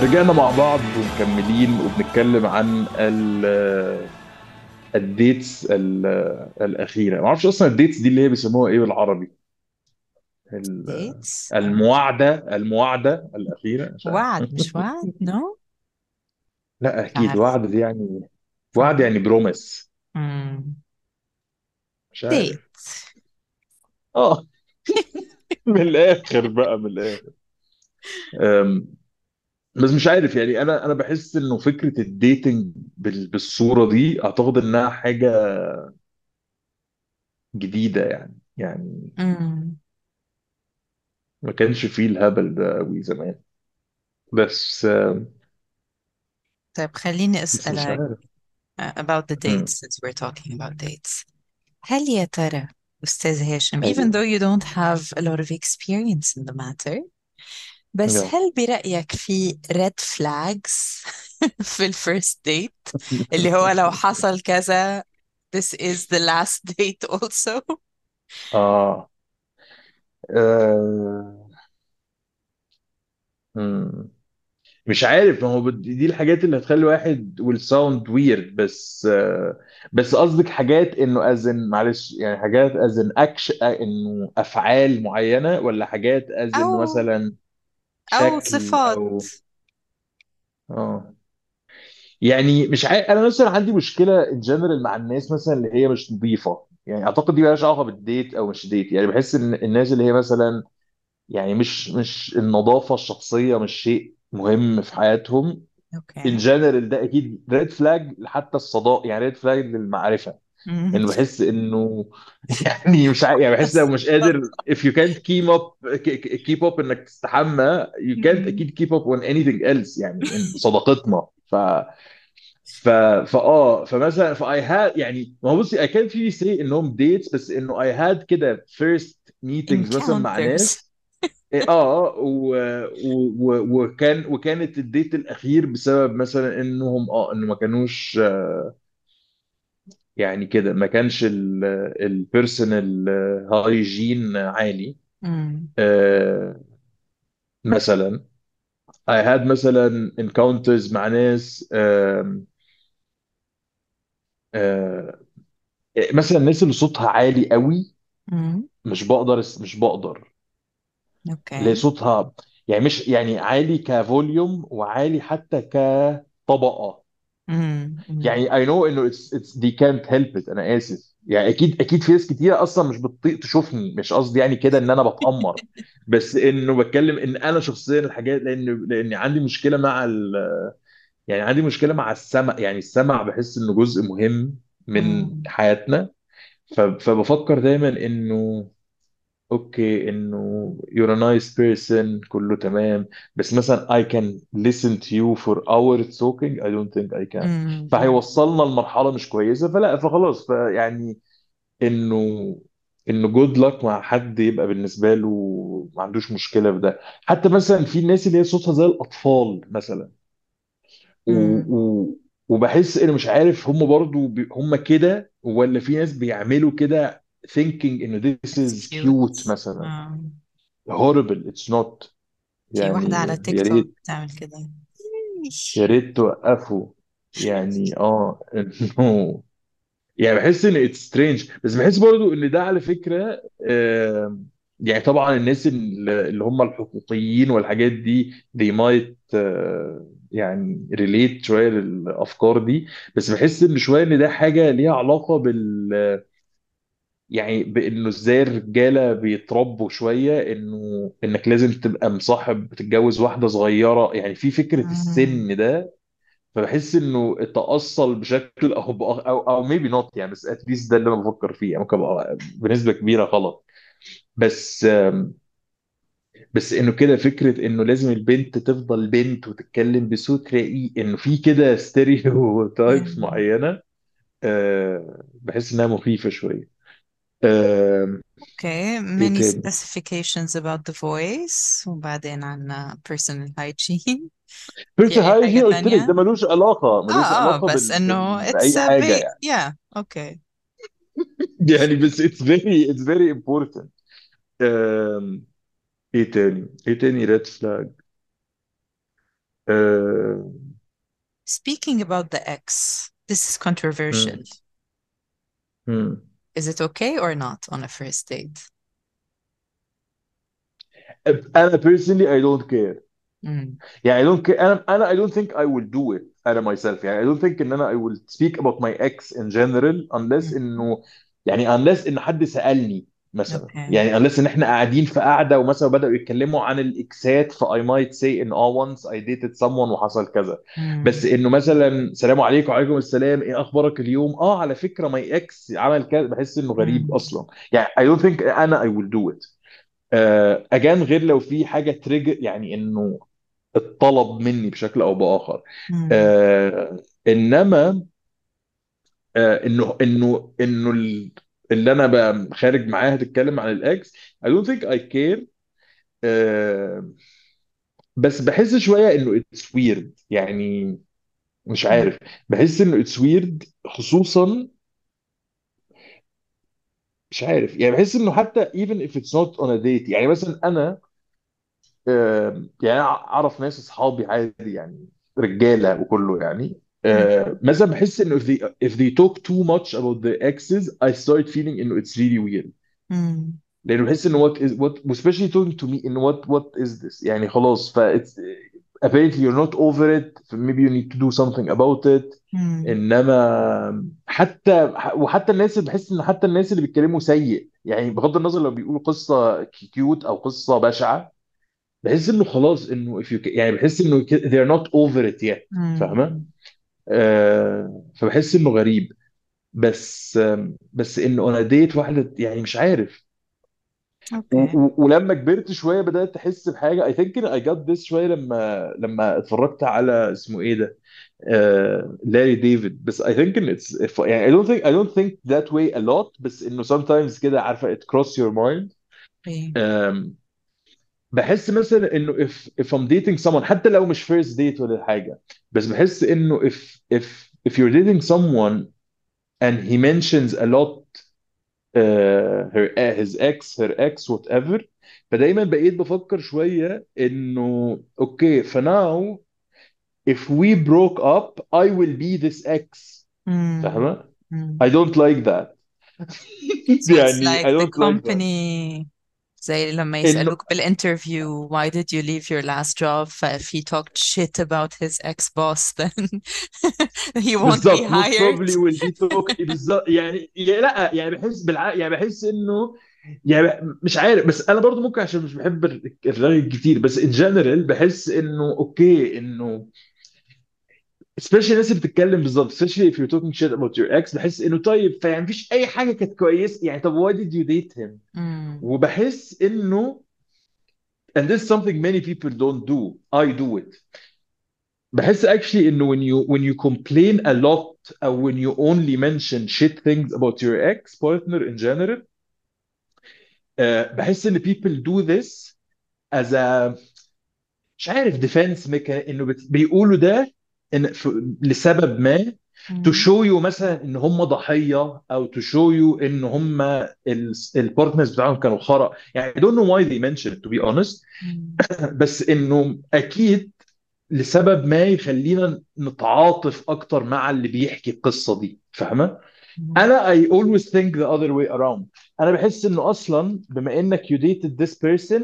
ورجعنا مع بعض ومكملين وبنتكلم عن ال- الديتس ال- الأخيرة. ما اعرفش أصلا الديتس دي اللي هي بيسموها إيه بالعربي. ال- dates. المواعدة المواعدة الأخيرة، مش عارف. وعد مش وعد. no. لا مش أكيد عارف. وعد دي يعني، وعد فاهم. يعني بروميس. مم. مش عارف. date. اه. من الآخر بقى، من الآخر. أم، بس مش عارف يعني، أنا أنا بحس إنه فكرة الديتنج بال- بالصورة دي أعتقد إنها حاجة جديدة يعني يعني مم. ما كانش فيه الهبل ده قوي زمان. بس طيب خليني بس مش أسألك عارف. uh, about the dates مم. since we're talking about dates. هل يا ترى أستاذ هاشم, even ايوه. though you don't have a lot of experience in the matter, بس يا. هل برأيك في red flags في الفيرست ديت, اللي هو لو حصل كذا this is the last date also? اه. آه. مم. مش عارف، ما هو بد- دي الحاجات اللي هتخلي الواحد will sound weird. بس آه بس قصدك حاجات انه ازن، معلش يعني، حاجات ازن اكش انه افعال معينة، ولا حاجات ازن أو مثلا أو شكل صفات. او. اه. يعني مش عارف، انا مثلا عندي مشكله ان جنرال مع الناس مثلا اللي هي مش نظيفه. يعني اعتقد دي مالهاش علاقه بالديت او مش ديت. يعني بحس ان الناس اللي هي مثلا، يعني مش مش النظافه الشخصيه مش شيء مهم في حياتهم. ان اوكي. جنرال ده اكيد ريد فلاج حتى الصداقه، يعني ريد فلاج للمعرفه. مم. انه بحس انه يعني مش عارف، يعني بحس لو مش قادر if you can't keep up keep up انك تستحمى you can't مم. اكيد keep up on anything else يعني in صداقتنا. ف ف فاه فمثلا فاي هاد يعني، ما هو بصي اي كان في سي انهم ديتس، بس انه اي هاد كده فيرست ميتنجز مثلا مع encounters. ناس. إيه، اه و... و... و... وكان وكانت الديت الاخير بسبب مثلا انهم اه انه ما كانوش يعني كده، ما كانش البيرسونال هايجين عالي. مم. آه مثلا I had مثلا encounters مع ناس، آه آه مثلا الناس اللي صوتها عالي قوي. مم. مش بقدر مش بقدر اللي هي اوكي. صوتها يعني مش يعني عالي كفوليوم، وعالي حتى كطبقة. مم. مم. يعني I know انه it's, it's they can't help it. انا اسف يعني، اكيد اكيد في ناس كتير اصلا مش بتطيق تشوفني. مش قصدي يعني كده ان انا بتأمر، بس انه بتكلم ان انا شخصيا الحاجات، لان لان عندي مشكلة مع ال يعني عندي مشكلة مع السمع. يعني السمع بحس انه جزء مهم من مم. حياتنا. ف- فبفكر دايما انه اوكي، انه you're a nice person كله تمام، بس مثلا I can listen to you for hours talking I don't think I can. مم. فهيوصلنا لمرحلة مش كويسة، فلا فخلاص فيعني انه انه good luck مع حد يبقى بالنسبة له ما عندوش مشكلة في ده. حتى مثلا في الناس اللي هي صوتها زي الأطفال مثلا، و... مم. و... وبحس انه مش عارف هم برضو بي... هم كده، ولا في ناس بيعملوا كده thinking انه this It's is cute cute. مثلا. مم. horrible it's not. في واحدة يعني على تيك يا توك ريت بتعمل كده. يا ريت توقفوا. يعني اه انه يعني بحس ان اتس سترينج. بس بحس برضو ان ده على فكره آه يعني طبعا الناس اللي اللي هم الحقوقيين والحاجات دي they might آه يعني ريليت شويه للافكار دي. بس بحس ان شويه ان ده حاجه ليها علاقه بال يعني بانه ازاي الرجاله بيتربوا شويه انه انك لازم تبقى مصاحب تتجوز واحده صغيره. يعني في فكره مم. السن ده. فبحس انه تأصل بشكل او بآخر- او او ميبي نوت يعني، بس اتليست ده اللي انا بفكر فيه. يعني ممكن ابقى بنسبه كبيره غلط. بس بس انه كده فكره انه لازم البنت تفضل بنت وتتكلم بصوت رقيق، انه في كده ستيريو تايبس مم. معينه. أه بحس انها مخيفه شويه. أه اوكي. ايه many تاني؟ specifications about the voice, وبعدين عنا personal hygiene. بيرث في أي حاجة هايجين قلت لك ده تانية؟ ملوش علاقه ملوش اه اه علاقه بس بال... بال... انه it's باي a حاجه bit يعني. yeah. okay. يعني بس it's very it's very important. أم، ايه تاني ايه تاني ريد فلاج؟ آه، Speaking about the ex, this is controversial. مم. مم. Is it okay or not on a first date? انا personally I don't care. Mm. يعني I don't care. انا انا I don't think I will do it انا myself. يعني I don't think ان انا I will speak about my ex in general unless Mm. انه يعني unless ان حد سألني مثلا. Okay. يعني unless ان احنا قاعدين في قعده ومثلا بدأوا يتكلموا عن الاكسات ف I might say ان اه once I dated someone وحصل كذا. بس Mm. انه مثلا سلام عليكم وعليكم السلام ايه اخبارك اليوم اه على فكره my ex عمل كذا، بحس انه غريب Mm. اصلا. يعني I don't think انا I will do it. آه، اجان غير لو في حاجه تريجر يعني انه اتطلب مني بشكل او باخر. Mm. آه انما آه انه انه انه ال- اللي انا بقى خارج معاها تتكلم عن الاكس I don't think I care. آه بس بحس شويه انه it's weird يعني. مش Mm. عارف. بحس انه it's weird خصوصا. مش عارف يعني بحس انه حتى even if it's not on a date. يعني مثلا انا آه، يعني أنا اعرف ناس اصحابي عادي يعني رجاله وكله يعني Mm. آه، مثلا بحس انه if they if they talk too much about their exes I start feeling انه it's really weird. Mm. لانه بحس انه what is what especially talking to me انه what what is this يعني خلاص ف it's apparently you're not over it ف maybe you need to do something about it. Mm. انما حتى وحتى الناس اللي بحس ان حتى الناس اللي بيتكلموا سيء يعني بغض النظر لو بيقولوا قصه كيوت او قصه بشعه بحس انه خلاص انه if you يعني بحس انه ك- they're not over it yet. فاهمه؟ Mm. آه فبحس انه غريب. بس آم، بس انه انا ديت واحده يعني مش عارف. و Okay. و ولما كبرت شويه بدات احس بحاجه I think I got this شويه لما لما اتفرجت على اسمه ايه ده آه لاري ديفيد. بس I think إن it's if يعني I don't think I don't think that way a lot بس انه sometimes كده عارفه it cross your mind. Okay. آم، بحس مثلا انه if if I'm dating someone حتى لو مش first date ولا حاجه بس بحس انه if if if you're dating someone and he mentions a lot uh, her his ex her ex whatever فدايما بقيت بفكر شويه انه اوكي فناو if we broke up I will be this ex. Mm. فاهمه؟ Mm. I don't like that. So it's يعني I like the don't like that. company زي لما انه يسألوك بالinterview why did you leave your last job ف if he talked shit about his ex-boss then he won't be بالظبط most hired. probably will be talk بالظبط يعني يعني لا يعني بحس بالع... يعني بحس انه يعني مش عارف. بس انا برضو ممكن عشان مش بحب الر- الرغي كتير بس in general بحس انه اوكي انه especially الناس اللي بتتكلم بالظبط especially if you're talking shit about your ex بحس انه طيب فيعني مفيش اي حاجه كانت كويسه يعني طب why did you date him. Mm. وبحس انه and this is something many people don't do I do it. بحس actually انه when you when you complain a lot or when you only mention shit things about your ex partner in general uh, بحس ان people do this as a مش عارف defense mechanism انه بت- بيقولوا ده إن ف- لسبب ما to Mm. show you مثلا ان هم ضحية او to show you ان هم البارتنرز بتاعهم كانوا خرا. يعني I don't know why they mention it to be honest. Mm. بس انه اكيد لسبب ما يخلينا نتعاطف اكتر مع اللي بيحكي القصه دي. فاهمه؟ Mm. انا I always think the other way around. انا بحس انه اصلا بما انك you dated this person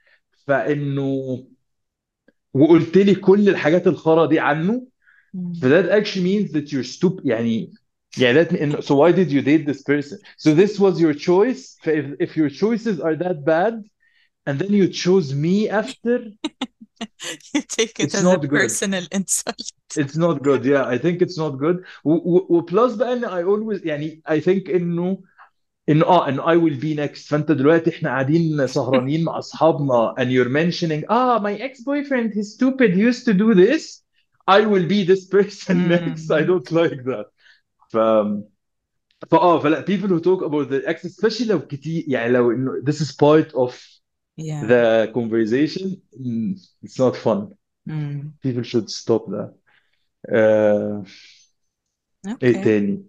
فانه وقلت لي كل الحاجات الخرا دي عنه ف Mm. that actually means that you're stupid يعني. يعني that mean, so why did you date this person so this was your choice ف if, if your choices are that bad and then you chose me after You take it it's as a not good. personal insult. It's not good. Yeah, I think it's not good. وبلس بقى ان I always يعني I think انه انه اه انه I will be next. فانت دلوقتي احنا قاعدين سهرانين مع اصحابنا and you're mentioning ah my ex-boyfriend he's stupid he used to do this. I will be this person next. I Mm. don't like that. ف فاه فلا people who talk about the ex especially لو كتير يعني لو انه this is part of Yeah. the conversation mm, it's not fun. Mm. People should stop that. آه، ايه Okay. تاني؟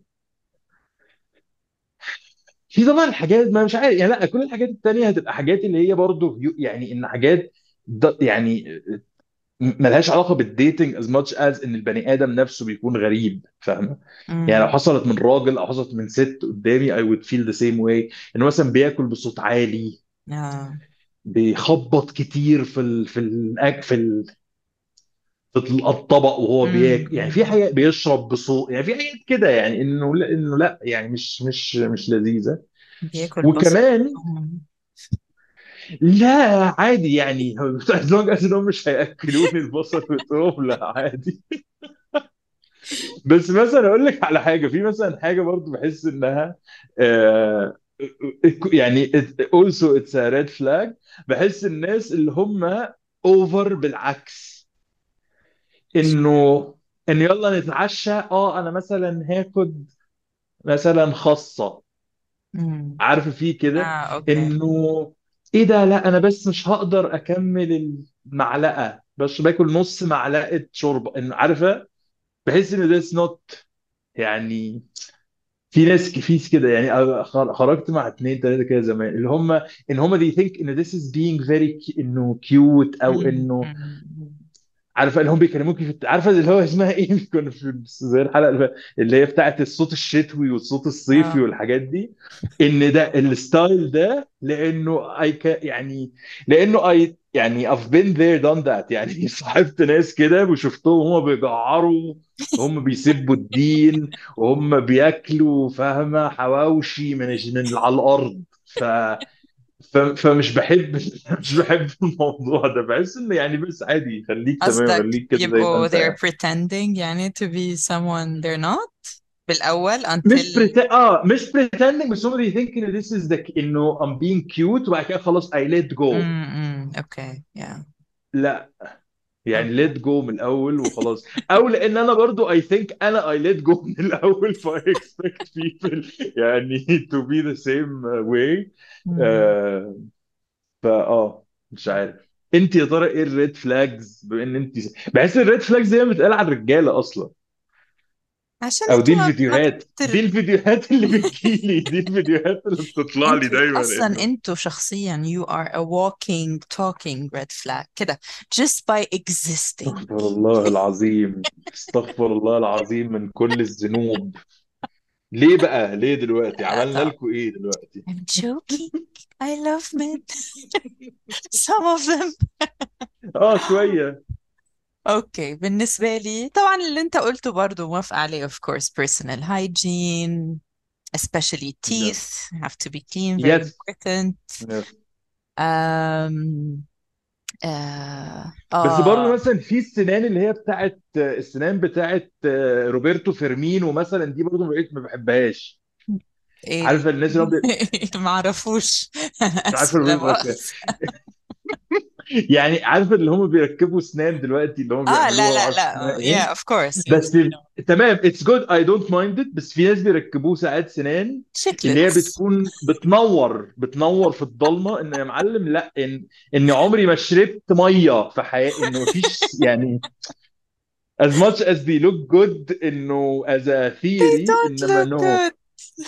في طبعا حاجات ما مش عارف يعني لا كل الحاجات التانية هتبقى حاجات اللي هي برضو يو- يعني ان حاجات ض- يعني م- ملهاش علاقه بالديتنج as much as ان البني ادم نفسه بيكون غريب، فاهمه؟ يعني لو امم حصلت من راجل او حصلت من ست قدامي I would feel the same way. انه مثلا بياكل بصوت عالي، اه بيخبط كتير في ال في الأك في ال في الطبق وهو بياكل، يعني في امم حاجات بيشرب بصوت، يعني في حاجات كده، يعني انه لا انه لا يعني مش مش مش لذيذه. بياكل بصل. وكمان لا عادي يعني as long as انهم مش هياكلوني البصل بتوعهم لا عادي. بس مثلا اقول لك على حاجه، في مثلا حاجه برضو بحس انها آه، يعني it- also it's a red flag. بحس الناس اللي هم اوفر بالعكس، انه ان يلا نتعشى، اه انا مثلا هاخد مثلا خاصه، امم عارف في كده، اه اوكي. انه ايه ده، لا انا بس مش هقدر اكمل المعلقه، بس باكل نص معلقه شوربه، انه عارفه. بحس ان that's not يعني. في ناس كفيس كده يعني، أنا خر- خرجت مع اتنين تلاته كده زمان اللي هم ان هم they think ان this is being very cu- انه cute، او امم انه أمم. عارفه اللي هم بيكلموك في الت- عارفه اللي هو اسمها ايه كنا في زي الحلقه اللي فاتت، اللي هي بتاعت الصوت الشتوي والصوت الصيفي اه والحاجات دي. ان ده الستايل ده لانه اي يعني لانه اي يعني I've been there done that يعني صاحبت ناس كده وشفتهم هم بيجعروا، هم بيسبوا الدين، وهم بياكلوا فاهمه حواوشي من من على الارض. ف ف- فمش بحب مش بحب الموضوع ده. بحس انه يعني بس عادي، خليك تمام، قصدك خليك كده زي ما يبقوا انت they're يعني. pretending يعني to be someone they're not بالأول مش until بريت... اه مش pretending، بس هم they think ان this is the انه I'm being cute وبعد كده خلاص I let go. امم اوكي yeah لا يعني اوكي. let go من الاول وخلاص. او لان انا برضو I think انا I let go من الاول ف I expect people يعني to be the same way. مم. آه فاه مش عارف. انت يا ترى ايه الريد فلاجز؟ بما ان انت بحس الريد فلاجز زي ما بتقال على الرجاله اصلا، عشان او دي انتوا ما ما الفيديوهات دي بتر... الفيديوهات اللي بتجيلي، دي الفيديوهات اللي بتطلع لي انتوا دايما اصلا انه انتوا شخصيا you are a walking talking red flag كده just by existing. استغفر الله العظيم، استغفر الله العظيم من كل الذنوب. ليه بقى؟ ليه دلوقتي لا عملنا طب لكم ايه دلوقتي؟ I'm joking. I love men. Some of them. اه شويه. اوكي بالنسبة لي طبعا اللي انت قلته برضو موافقة عليه of course personal hygiene especially يس teeth have to be clean very يس important. يس. um, آه, بس برضه آه مثلا في السنان اللي هي بتاعت السنان بتاعت روبرتو فيرمينو مثلا، دي برضه ما بقيت ما بحبهاش. ايه عارفه الناس اللي هو بي... معرفوش. انا مش عارفه اسفة لا روبرتو مؤاخذة. يعني عارفه اللي هم بيركبوا اسنان دلوقتي اللي هم اه لا بيعملوها، ما لا اعرفش اسمها لا ايه. yeah of course yes بس I know تمام اتس جود اي دونت مايند ات. بس في ناس بيركبوه ساعات سنان اللي هي chiclets. بتكون بتنور بتنور في الضلمه، ان يا معلم لا ان ان عمري ما شربت ميه في حياتي، انه مفيش يعني as much as they look good انه as a they theory، don't انما look no. good.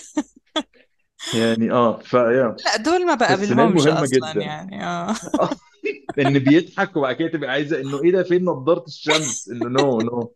يعني اه فيا لا دول ما فالسنان بقابلهمش مهمه اصلا جدا. يعني اه. ان بيضحك وبعد كده تبقى عايزه انه ايه ده، فين نضاره الشمس، انه نو نو.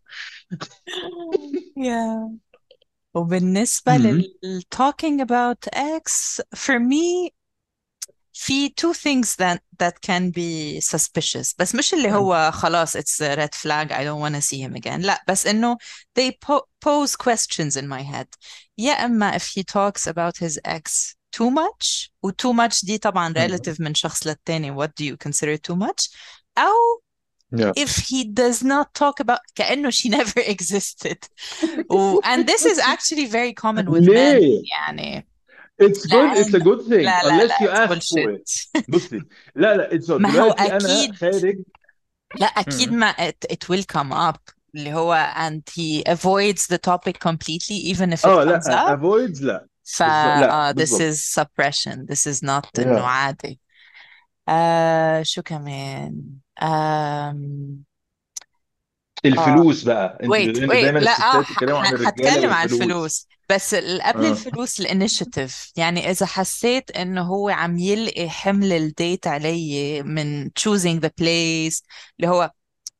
yeah وبالنسبة امم لل talking about X for me في two things that that can be suspicious بس مش اللي هو خلاص it's a red flag I don't want to see him again لا بس إنه they po pose questions in my head. يا إما if he talks about his ex too much و too much دي طبعا relative من شخص للتاني what do you consider too much أو يا if he does not talk about كأنه she never existed و and this is actually very common with men ليه؟ يعني It's good, it's a لأن good thing لا لا لا unless you it's ask for bullshit. it. بصي، لا لا it's not. ما هو دلوقتي انا أكيد خارج. لا أكيد مم. ما it, it will come up اللي هو and he avoids the topic completely even if it اه comes لا up avoids لا. ف بالظبط لا uh, this بالظبط. is suppression this is not إنه yeah. عادي. آه شو كمان آم... اه الفلوس بقى، انت wait لان wait دايما لا اه الستات ح- بيتكلموا عن ح- الرجاله هتكلم على والفلوس. الفلوس بس ال- قبل اه الفلوس الانيشيتيف يعني إذا حسيت إنه هو عم يلقي حمل الديت علي من choosing the place اللي هو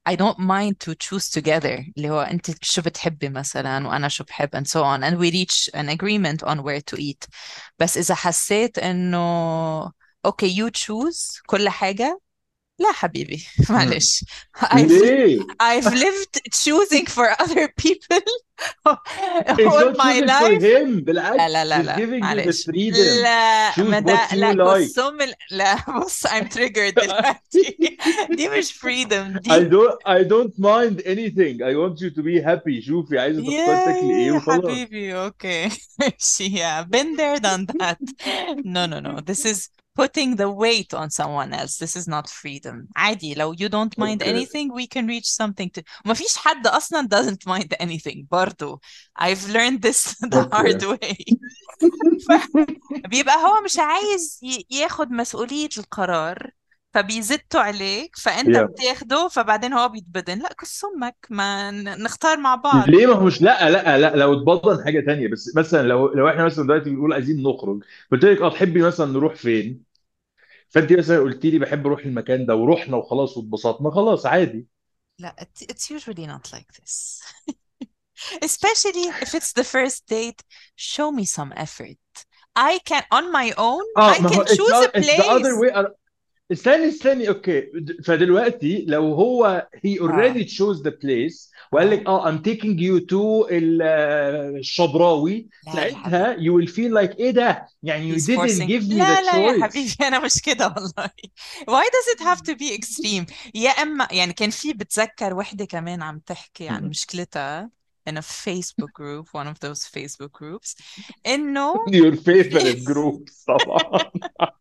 I don't mind to choose together اللي هو انت شو بتحبي مثلا وانا شو بحب and so on and we reach an agreement on where to eat. بس اذا حسيت انه okay you choose كل حاجة، لا حبيبي مم. معلش. I've ليه؟ I've lived choosing for other people It's all not my choosing for life. him. لا بالعكس, لا لا he's لا giving you the معلش، freedom. لا ما Choose ده what you لا like. قسم ال- لا بص I'm triggered دلوقتي. دي مش freedom I دي. don't I don't mind anything. I want you to be happy. شوفي عايزة تختار تاكلي ايه يا وخلاص. حبيبي اوكي ماشي yeah been there done that. No no no this is putting the weight on someone else. This is not freedom. عادي لو you don't mind Okay. anything we can reach something to ما فيش حد أصلا doesn't mind anything برضو. I've learned this the hard Okay. way. بيبقى هو مش عايز ي- ياخد مسؤولية القرار فبيزتوا عليك فانت Yeah. بتاخده فبعدين هو بيتبدن. لا كس امك ما ن- نختار مع بعض. ليه؟ ما هو مش لا لا لا لو اتبضن حاجة تانية. بس مثلا لو لو احنا مثلا دلوقتي بنقول عايزين نخرج، قلت لك اه تحبي مثلا نروح فين؟ فانت مثلا قلت لي بحب اروح المكان ده ورحنا وخلاص واتبسطنا، خلاص عادي. لا it- it's usually not like this. Especially if it's the first date, show me some effort. I can on my own I اه ما هو can it's choose a not, it's the other place. way. استني استني اوكي. د- فدلوقتي لو هو he اه already chose the place وقال اه لك اه I'm taking you to ال- آه، الشبراوي، لا يا حبيبي ساعتها you will feel like ايه ده؟ يعني you he's didn't forcing. give me the لا لا يا choice. حبيبي أنا مش كده والله. Why does it have to be extreme؟ يا إما يعني كان في بتذكر وحدة كمان عم تحكي عن مشكلتها in a Facebook group, one of those Facebook groups إنه Your في favorite groups طبعا.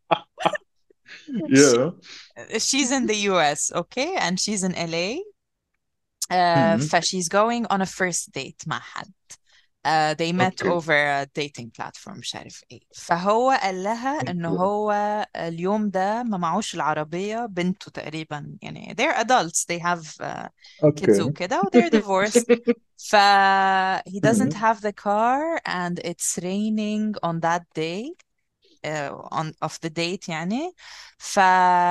she, Yeah. she's in the U S okay and she's in L A. uh, Mhm. ف she's going on a first date مع حد. Uh, they met Okay. over a dating platform مش عارف ايه. فهو قال لها انه هو اليوم ده ما معوش العربية، بنته تقريبا يعني they're adults they have uh, kids Okay. وكده و they're divorced. ف he doesn't Mhm. have the car and it's raining on that day uh, on of the date يعني. ف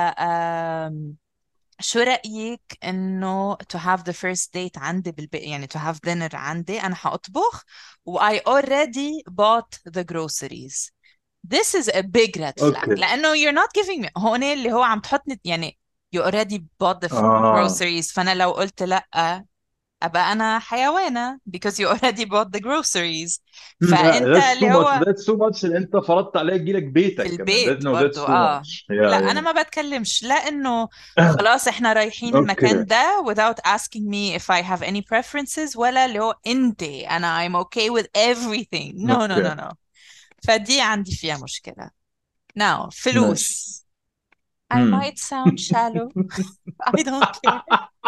um, شو رأيك إنه to have the first date عندي بالبيت يعني to have dinner عندي أنا حأطبخ و I already bought the groceries. This is a big red flag Okay. لأنه you're not giving me هون اللي هو عم تحطني يعني you already bought the f- اه groceries فأنا لو قلت لأ أبقى أنا حيوانة because you already bought the groceries. فأنت that's too اللي much. هو That's too much اللي انت فرضت عليها تجيلك في بيتك كمان. That, البيت no, that's برضو too اه. much. لا Yeah, انا ما بتكلمش لا انه yeah. خلاص احنا رايحين Okay. المكان ده without asking me if I have any preferences ولا اللي هو انت انا I'm okay with everything. no no Okay. no no. فدي عندي فيها مشكلة. now ماشي. فلوس I مم. might sound shallow I don't care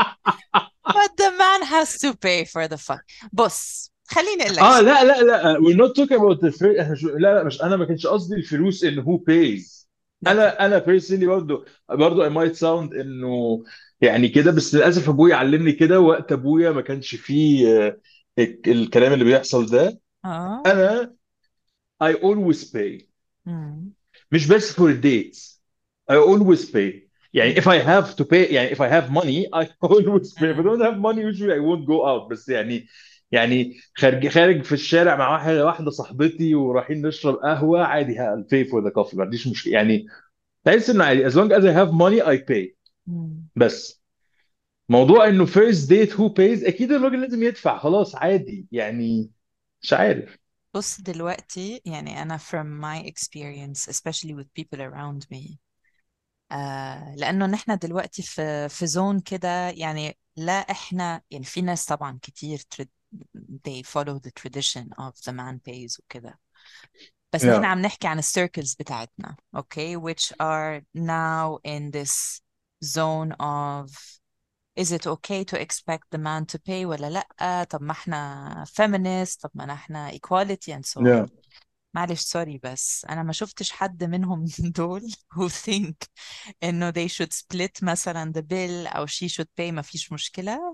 but the man has to pay for the fun. بص خليني اقول لك اه شيء. لا لا لا we're not talking about the free. احنا شو- لا لا مش انا ما كانش قصدي الفلوس ان who pays. okay انا انا personally برضو برضو I might sound انه يعني كده، بس للاسف ابويا علمني كده. وقت ابويا ما كانش فيه آه، الك- الكلام اللي بيحصل ده. اه انا I always pay. مم. مش بس for dates. I always pay. يعني if مم. I have to pay يعني if I have money I always pay. If I مم. don't have money usually I won't go out. بس يعني يعني خارج خارج في الشارع مع واحدة واحدة صاحبتي ورايحين نشرب قهوة عادي I'll pay for the coffee. ما عنديش مشكلة يعني. تحس انه عادي as long as I have money I pay. مم. بس موضوع انه first date who pays اكيد الراجل لازم يدفع، خلاص عادي يعني. مش عارف. بص دلوقتي يعني أنا from my experience especially with people around me آه لأنه نحن دلوقتي في في زون كده يعني لا إحنا يعني في ناس طبعا كتير tr- they follow the tradition of the man pays وكده. بس نحن Yeah. عم نحكي عن السيركلز بتاعتنا okay which are now in this zone of is it okay to expect the man to pay ولا لأ. طب ما احنا feminist طب ما احنا equality and so on. Yeah. معلش سوري بس أنا ما شفتش حد منهم دول who think إنه they should split مثلا the bill أو she should pay ما فيش مشكلة.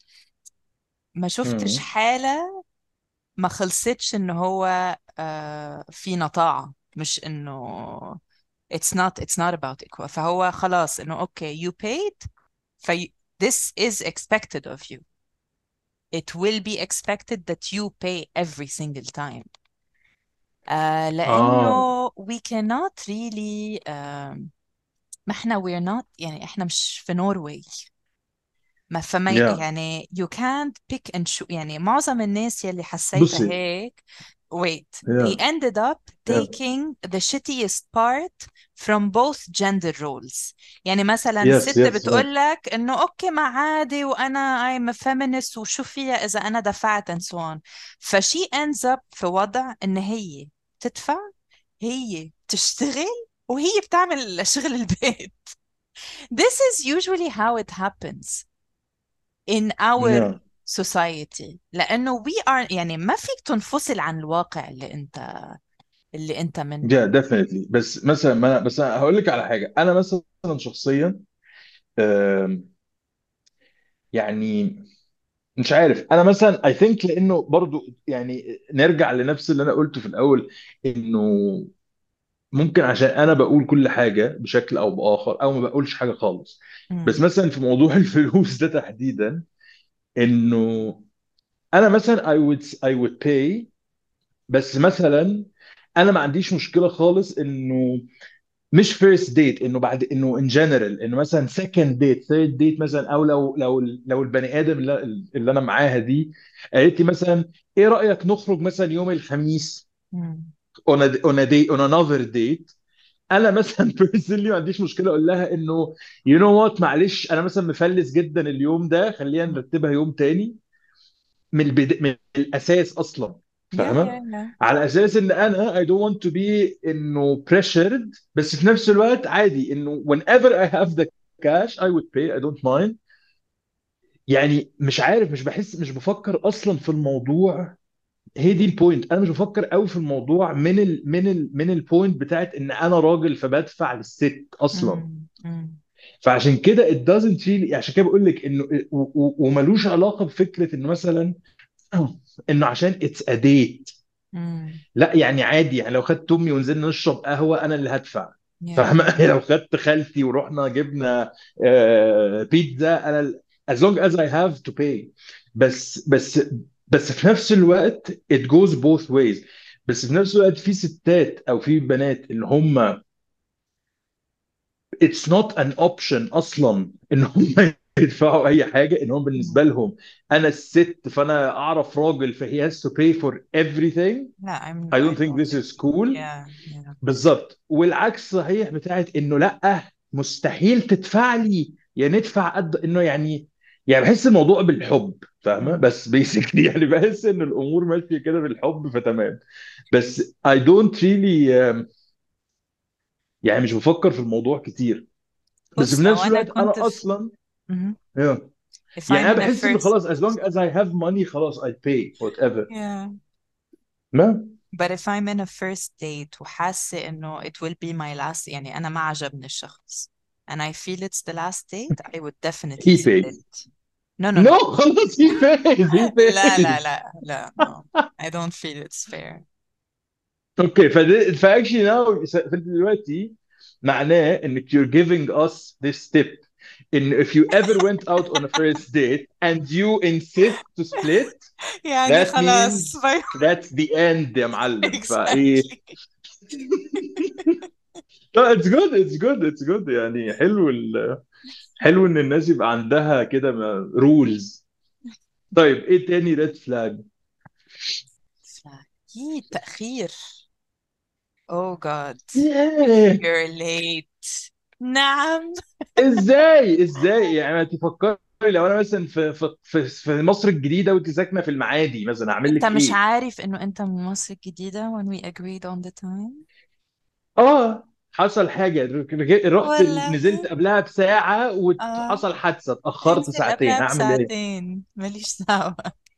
ما شفتش Hmm. حالة ما خلصتش إنه هو آه في نطاعة مش إنه it's not it's not about equal. فهو خلاص إنه okay you paid ف this is expected of you. It will be expected that you pay every single time. آه لأنه اه we cannot really um, ما احنا we're not يعني احنا مش في نوروي. ما فما ي- يا يعني you can't pick and choose. يعني معظم الناس يلي حسيتها بصي هيك wait they يا ended up يا taking the shittiest part from both gender roles. يعني مثلا يس ست يس بتقول لك انه اوكي ما عادي وانا I'm a feminist وشو فيها اذا انا دفعت and so on. فشي ends up في وضع ان هي تدفع، هي تشتغل، وهي بتعمل شغل البيت. This is usually how it happens in our يا society. لأنه we are يعني ما فيك تنفصل عن الواقع اللي أنت اللي أنت منه. يا definitely. بس مثلا ما بس أنا هقول لك على حاجه. انا مثلا شخصيا آم، يعني مش عارف. انا مثلا I think لانه برضو يعني نرجع لنفس اللي انا قلته في الاول، انه ممكن عشان انا بقول كل حاجه بشكل او باخر او ما بقولش حاجه خالص. بس مم. مثلا في موضوع الفلوس ده تحديدا، انه انا مثلا I would I would pay. بس مثلا انا ما عنديش مشكله خالص انه مش فيرست ديت، انه بعد انه ان جنرال، انه مثلا سكند ديت ثيرد ديت مثلا، او لو لو لو البني ادم اللي, اللي انا معاها دي قالت لي مثلا ايه رايك نخرج مثلا يوم الخميس مم. on a, on a day on another date. انا مثلا بيرسونلي ما عنديش مشكله اقول لها انه يو نو وات، معلش انا مثلا مفلس جدا اليوم ده، خلينا مم. نرتبها يوم تاني. من البدا... من الاساس اصلا، yeah yeah فاهمه؟ yeah على اساس ان انا I don't want to be انه pressured، بس في نفس الوقت عادي انه whenever I have the cash I would pay. I don't mind. يعني مش عارف، مش بحس، مش بفكر اصلا في الموضوع. هي دي البوينت، انا مش بفكر قوي في الموضوع من ال من ال من البوينت بتاعت ان انا راجل فبدفع للست اصلا. مم. مم. فعشان كده it doesn't really، عشان كده بقول لك انه و- و- وملوش علاقه بفكره انه مثلا انه عشان it's a date. مم. لا يعني عادي، يعني لو خدت امي ونزلنا نشرب قهوه انا اللي هدفع. yeah فاهمه؟ لو خدت خالتي ورحنا جبنا آه، بيتزا انا ال- as long as I have to pay. بس بس بس في نفس الوقت it goes both ways. بس في نفس الوقت في ستات او في بنات اللي هم it's not an option اصلا ان هم يدفعوا اي حاجه، ان هم مم. بالنسبه لهم انا الست فانا اعرف راجل فهي has to pay for everything. لا I'm I I don't think don't this is agree. cool. yeah yeah بالظبط. والعكس صحيح بتاعت انه لا مستحيل تدفع لي، يا ندفع قد انه يعني. يعني بحس الموضوع بالحب، فاهمه؟ مم. بس بيسكلي يعني بحس ان الامور ماشيه كده بالحب فتمام. بس I don't really um, يعني مش بفكر في الموضوع كتير. بس في بص لو نفس أنا الوقت كنت انا في اصلا مهم. yeah. if يعني I'm انا in a بحس انه first خلاص as long as I have money خلاص I pay whatever. yeah ما but if I'm in a first date وحاسة إنه it will be my last يعني أنا ما عجبني الشخص and I feel it's the last date I would definitely he pays. split. No no No no خلاص he pays he لا لا pays. لا لا no I don't feel it's fair. اوكي فد... فاكشلي ناو فانت دلوقتي معناه انك you're giving us this tip in if you ever went out on a first date and you insist to split, يعني that خلاص means باي that's the end يا معلم. فايه exactly. لا it's good it's good it's good. يعني حلو ال... حلو ان الناس يبقى عندها كده رولز. طيب ايه تاني ريد فلاج؟ أكيد تأخير. oh god ياه you're late. نعم. ازاي ازاي يعني ما تفكري لو انا مثلا في في في في مصر الجديده وانت ساكنه في المعادي مثلا اعمل أنت لك مش ايه؟ عارف إنه أنت من مصر الجديدة when we agreed on the time اه حصل حاجه رج- رحت والله نزلت قبلها بساعه اه وحصل حادثه اتاخرت انزل ساعتين، قبلها هعمل ايه؟ بساعتين ماليش دعوة.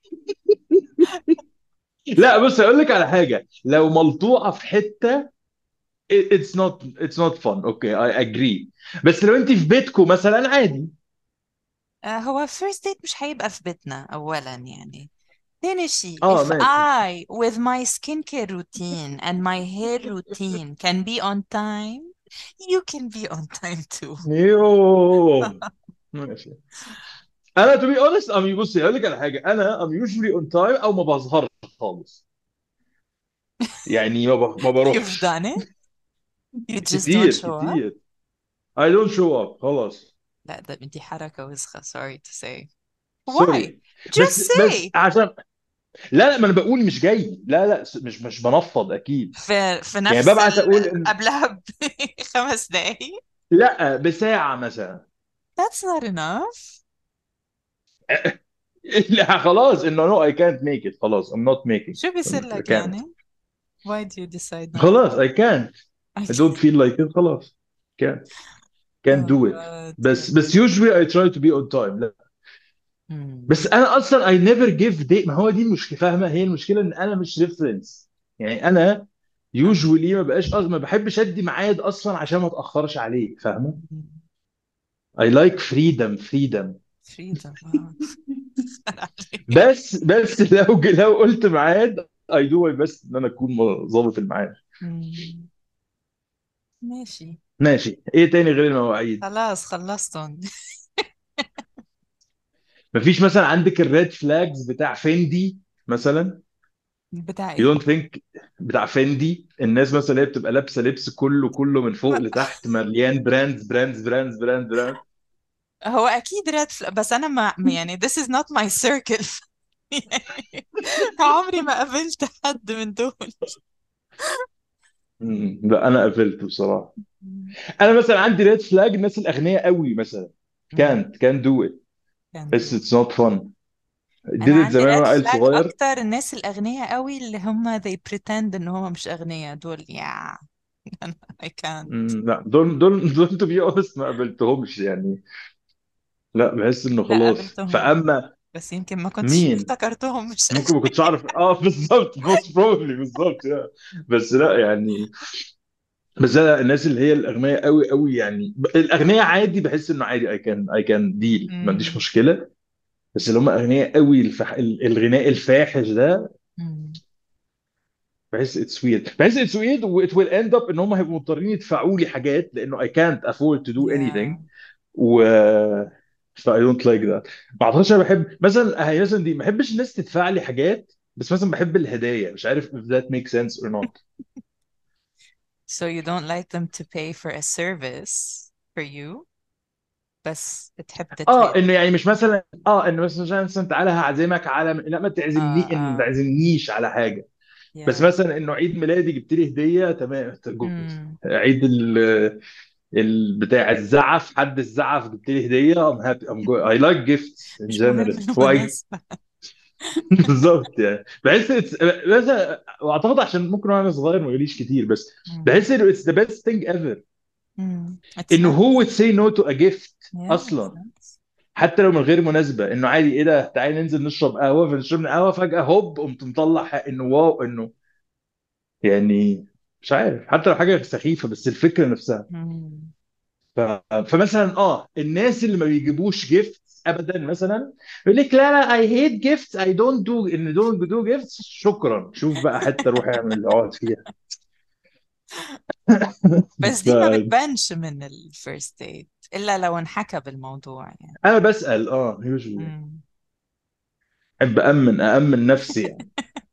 لا بص اقول لك على حاجه، لو ملطوعه في حته it- it's not it's not fun. اوكي I agree. بس لو انت في بيتكم مثلا عادي. آه، هو first date مش هيبقى في بيتنا أولا يعني. تاني شيء اه if ماشي. I with my skincare routine and my hair routine can be on time you can be on time too. يوه ماشي. انا to be honest I'm بصي هقول لك على حاجه، انا I'm usually on time او ما بظهرش خالص، يعني ما ب... ما You've بروحش. done it. You just don't كتير show up. كتير. I don't show up خلاص. لا ده دي حركة وسخة. Sorry to say. Why? سوري. Just بس بس say. عشان لا لا، ما انا بقول مش جاي، لا لا، مش مش بنفض اكيد. في في يعني نفس ببعت ال... اقول ان قبلها بخمس دقايق. لا بساعه مثلا. That's not enough. لا خلاص انه no I can't make it، خلاص I'm not making شو بيصير it. I لك can't. يعني؟ Why do you decide not to? خلاص I can't. I don't feel like it خلاص. can't can't Oh do it. God. بس بس usually I try to be on time. لا Hmm. بس انا اصلا I never give day، ما هو دي المشكله، فاهمه؟ هي المشكله ان انا مش ريفرنس. يعني انا أنا. usually ما بقاش أص... ما بحبش ادي ميعاد اصلا عشان ما اتاخرش عليه، فاهمه؟ Hmm. I like freedom freedom. Freedom. Wow. بس بس لو لو قلت ميعاد I do my best ان انا اكون ظابط الميعاد. Hmm. ماشي. ماشي، ايه تاني غير المواعيد؟ خلاص خلصتهم. مفيش مثلا عندك الريد فلاجز بتاع فيندي مثلا؟ بتاع you ايه؟ don't think بتاع فيندي، الناس مثلا اللي هي بتبقى لابسه لبس كله كله من فوق لتحت مليان براندز براندز براندز براندز براند. هو اكيد ريد فلاج، بس انا ما يعني this is not my circle. يعني عمري ما قابلت حد من دول. مم، لا انا قفلت بصراحه. انا مثلا عندي ريد فلاج الناس الاغنياء قوي مثلا، مم. can't can't do it. كان بس دول. it's not fun. انا did it عندي زمان ريد وانا عيل فلاج صغير. اكتر الناس الاغنياء قوي اللي هم they pretend ان هم مش اغنياء دول. يا أنا I can't. مم، لا دول دول دول to be honest ما قابلتهمش يعني. لا بحس انه لا خلاص، قابلتهم، فاما بس يمكن ما كنتش مين افتكرتهم مش ممكن ما كنتش اعرف اه بالظبط most probably بالظبط yeah. بس لا يعني، بس لا الناس اللي هي الاغنياء قوي قوي يعني، الاغنياء عادي بحس انه عادي I can I can deal، ما عنديش أغنياء. مشكله. بس اللي هم اغنياء قوي الفح... الغناء الفاحش ده، بحس اتس ويرد، بحس اتس ويرد و it will end up ان هم هيبقوا مضطرين يدفعوا لي حاجات لانه I can't afford to do anything. Yeah. و ف I don't like that. ما اعتقدش انا بحب مثلا هي مثلا دي، ما بحبش الناس تدفع لي حاجات، بس مثلا بحب الهدايا، مش عارف if that makes sense or not. So you don't like them to pay for a service for you بس بتحب اه تتهادى. انه يعني مش مثلا اه انه مثلا عشان مثلا تعالى هعزمك على، لا ما اه تعزمني ان ما اه تعزمنيش على حاجه. بس yeah. مثلا انه عيد ميلادي جبت لي هديه تمام جود. Hmm. عيد ال ال- بتاع الزعف، حد الزعف جبت لي هديه I'm happy I'm good I like gifts in مش مهم general why. المناسبة. بالظبط يعني بحس it's مثلا، واعتقد عشان ممكن وانا صغير ما جاليش كتير، بس Hmm. بحس انه it's the best thing ever Hmm. It's انه nice. who would say no to a gift Yeah, it's اصلا. nice. حتى لو من غير مناسبة، انه عادي ايه ده تعالي ننزل نشرب قهوة، فنشرب قهوة فجأة هوب قمت مطلع حق- انه واو انه يعني مش عارف، حتى لو حاجة سخيفة بس الفكرة نفسها. Hmm. ف... فمثلا اه الناس اللي ما بيجيبوش جيفت ابدا مثلا يقول لك لا لا I hate gifts I don't do ان don't do gifts، شكرا شوف بقى حتى روح اعمل اقعد فيها. بس ف... دي ما بتبانش من الفيرست ديت إلا لو انحكى بالموضوع يعني. انا بسأل اه usually Hmm. احب أأمن أأمن نفسي يعني.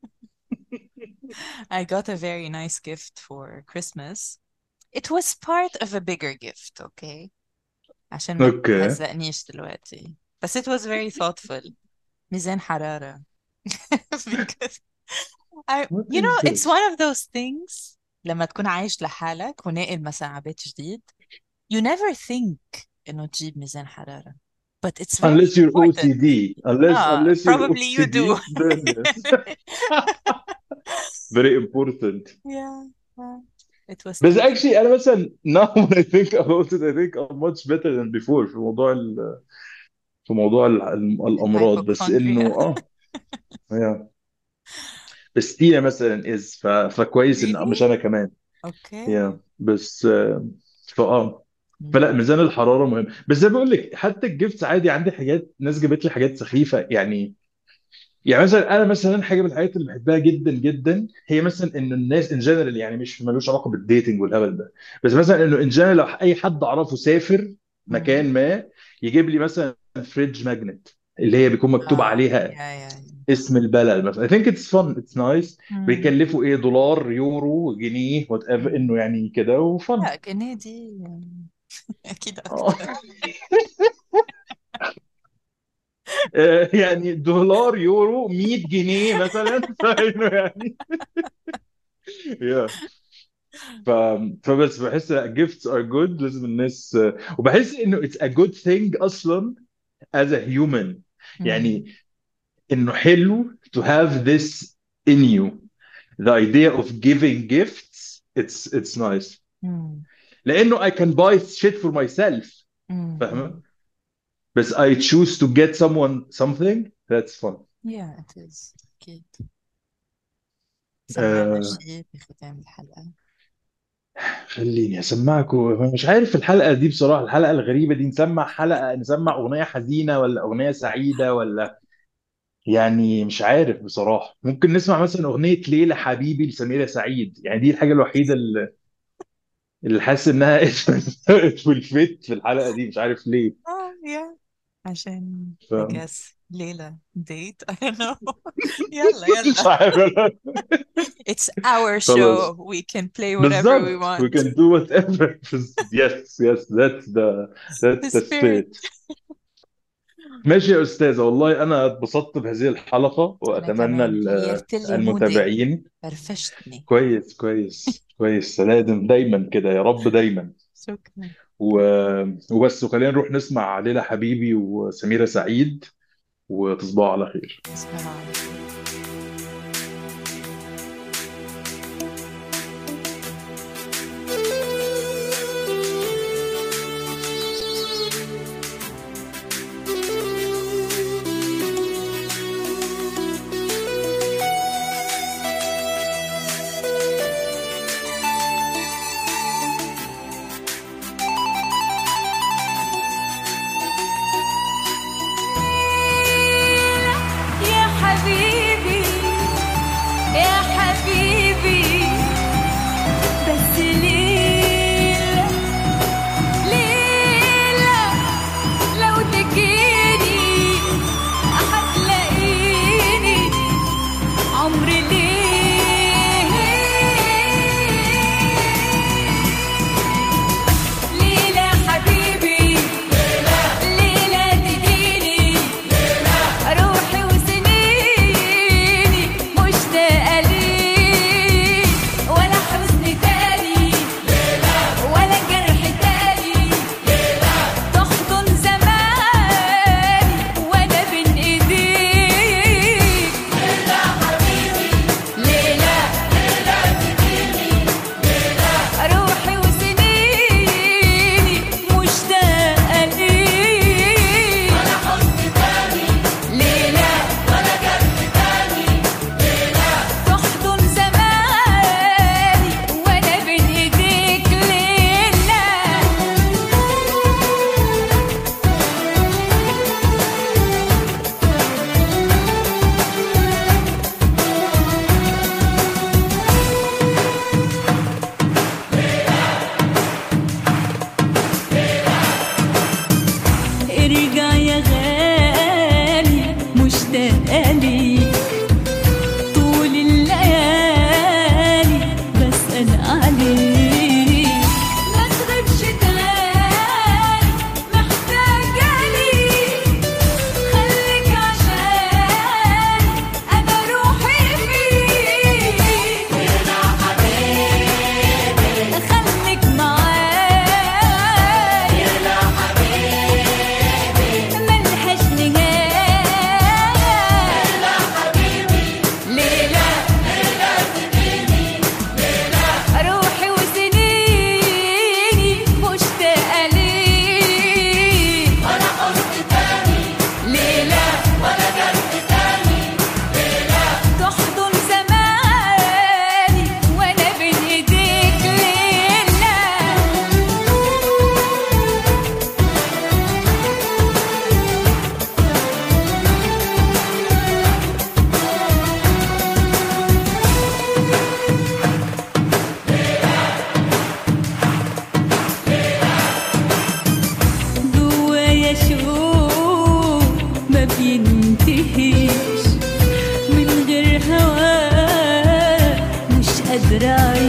I got a very nice gift for Christmas. It was part of a bigger gift, okay? عشان ما اوكي. تهزقنيش دلوقتي. بس it was very thoughtful. ميزان حرارة. Because I, What you is know, it's this? one of those things لما تكون عايش لحالك وناقل مثلا على بيت جديد you never think إنه تجيب ميزان حرارة but it's very Unless you're important. O C D. Unless Ah, unless you're probably you do. O C D, then yes. Very important. Yeah, yeah. It was بس touching. actually انا مثلا now when I think about it I think I'm much better than before في موضوع ال... في موضوع ال... ال- الامراض، بس انه الهايبوكوندريا. اه yeah. بس تينا مثلا از ف... فكويس ان Really? مش انا كمان. Okay. yeah. بس آه، فاه فلا Mm. ميزان الحراره مهم، بس زي ما بقول لك حتى الجيفتس عادي، عندي حاجات ناس جابت لي حاجات سخيفه يعني. يعني مثلا انا مثلا حاجه من الحاجات اللي بحبها جدا جدا هي مثلا انه الناس ان جنرال، يعني مش ملوش علاقه بالديتنج والهبل ده، بس مثلا انه ان جنرال لو اي حد اعرفه سافر Mm. مكان ما يجيب لي مثلا فريدج ماجنت اللي هي بيكون مكتوب اه عليها يا يا اسم البلد مثلا. I think it's fun, it's nice. مم. بيكلفوا ايه؟ دولار، يورو، جنيه، وات ايفر، مم. انه يعني كده وفن. لا جنيه دي يعني اكيد آه. اكتر. آه، يعني دولار، يورو، مية جنيه مثلا فانه يعني yeah. ف... فبس بحس gifts are good، لازم الناس، وبحس انه it's a good thing اصلا as a human. مم. يعني انه حلو to have this in you, the idea of giving gifts. it's it's nice مم. لانه I can buy shit for myself. مم. فاهمة؟ بس I choose to get someone something that's fun. yeah it is اكيد. سمعنا آه شيء بختام الحلقة. خليني اسمعكم. مش عارف الحلقة دي بصراحة، الحلقة الغريبة دي، نسمع حلقة، نسمع اغنية حزينة ولا اغنية سعيدة ولا يعني مش عارف بصراحة. ممكن نسمع مثلا اغنية ليلى حبيبي لسميرة سعيد، يعني دي الحاجة الوحيدة اللي اللي حاسس انها في الفيت في الحلقة دي، مش عارف ليه. اه yeah عشان ف... I guess ليلة date I don't know. يلا مش يلا عارف. it's our خلاص show we can play whatever we بالظبط we want. can do whatever. yes yes that's the the that's the spirit. spirit. ماشي يا أستاذة، والله أنا اتبسطت بهذه الحلقة أنا وأتمنى كمان ال- غيرت لي مودي، المتابعين. فرفشتني. كويس كويس كويس، لازم دايما كده يا رب دايما. شكرا. و... وبس، وخلينا نروح نسمع ليلى حبيبي وسميرة سعيد، وتصبحوا على خير. تصبحوا على خير. يا حبيبي يا حبيبي بس ليلة ليلة لو تجيني هتلاقيني عمري ليه ليلة حبيبي ليلة تجيني روحي وسنيني مشتاقة ليك ولا حزن تاني ولا جرح تاني تحضن زماني وانا بين ايديك ليلى روحي وسنيني مشتاقة ليك ليلى تحضن رايح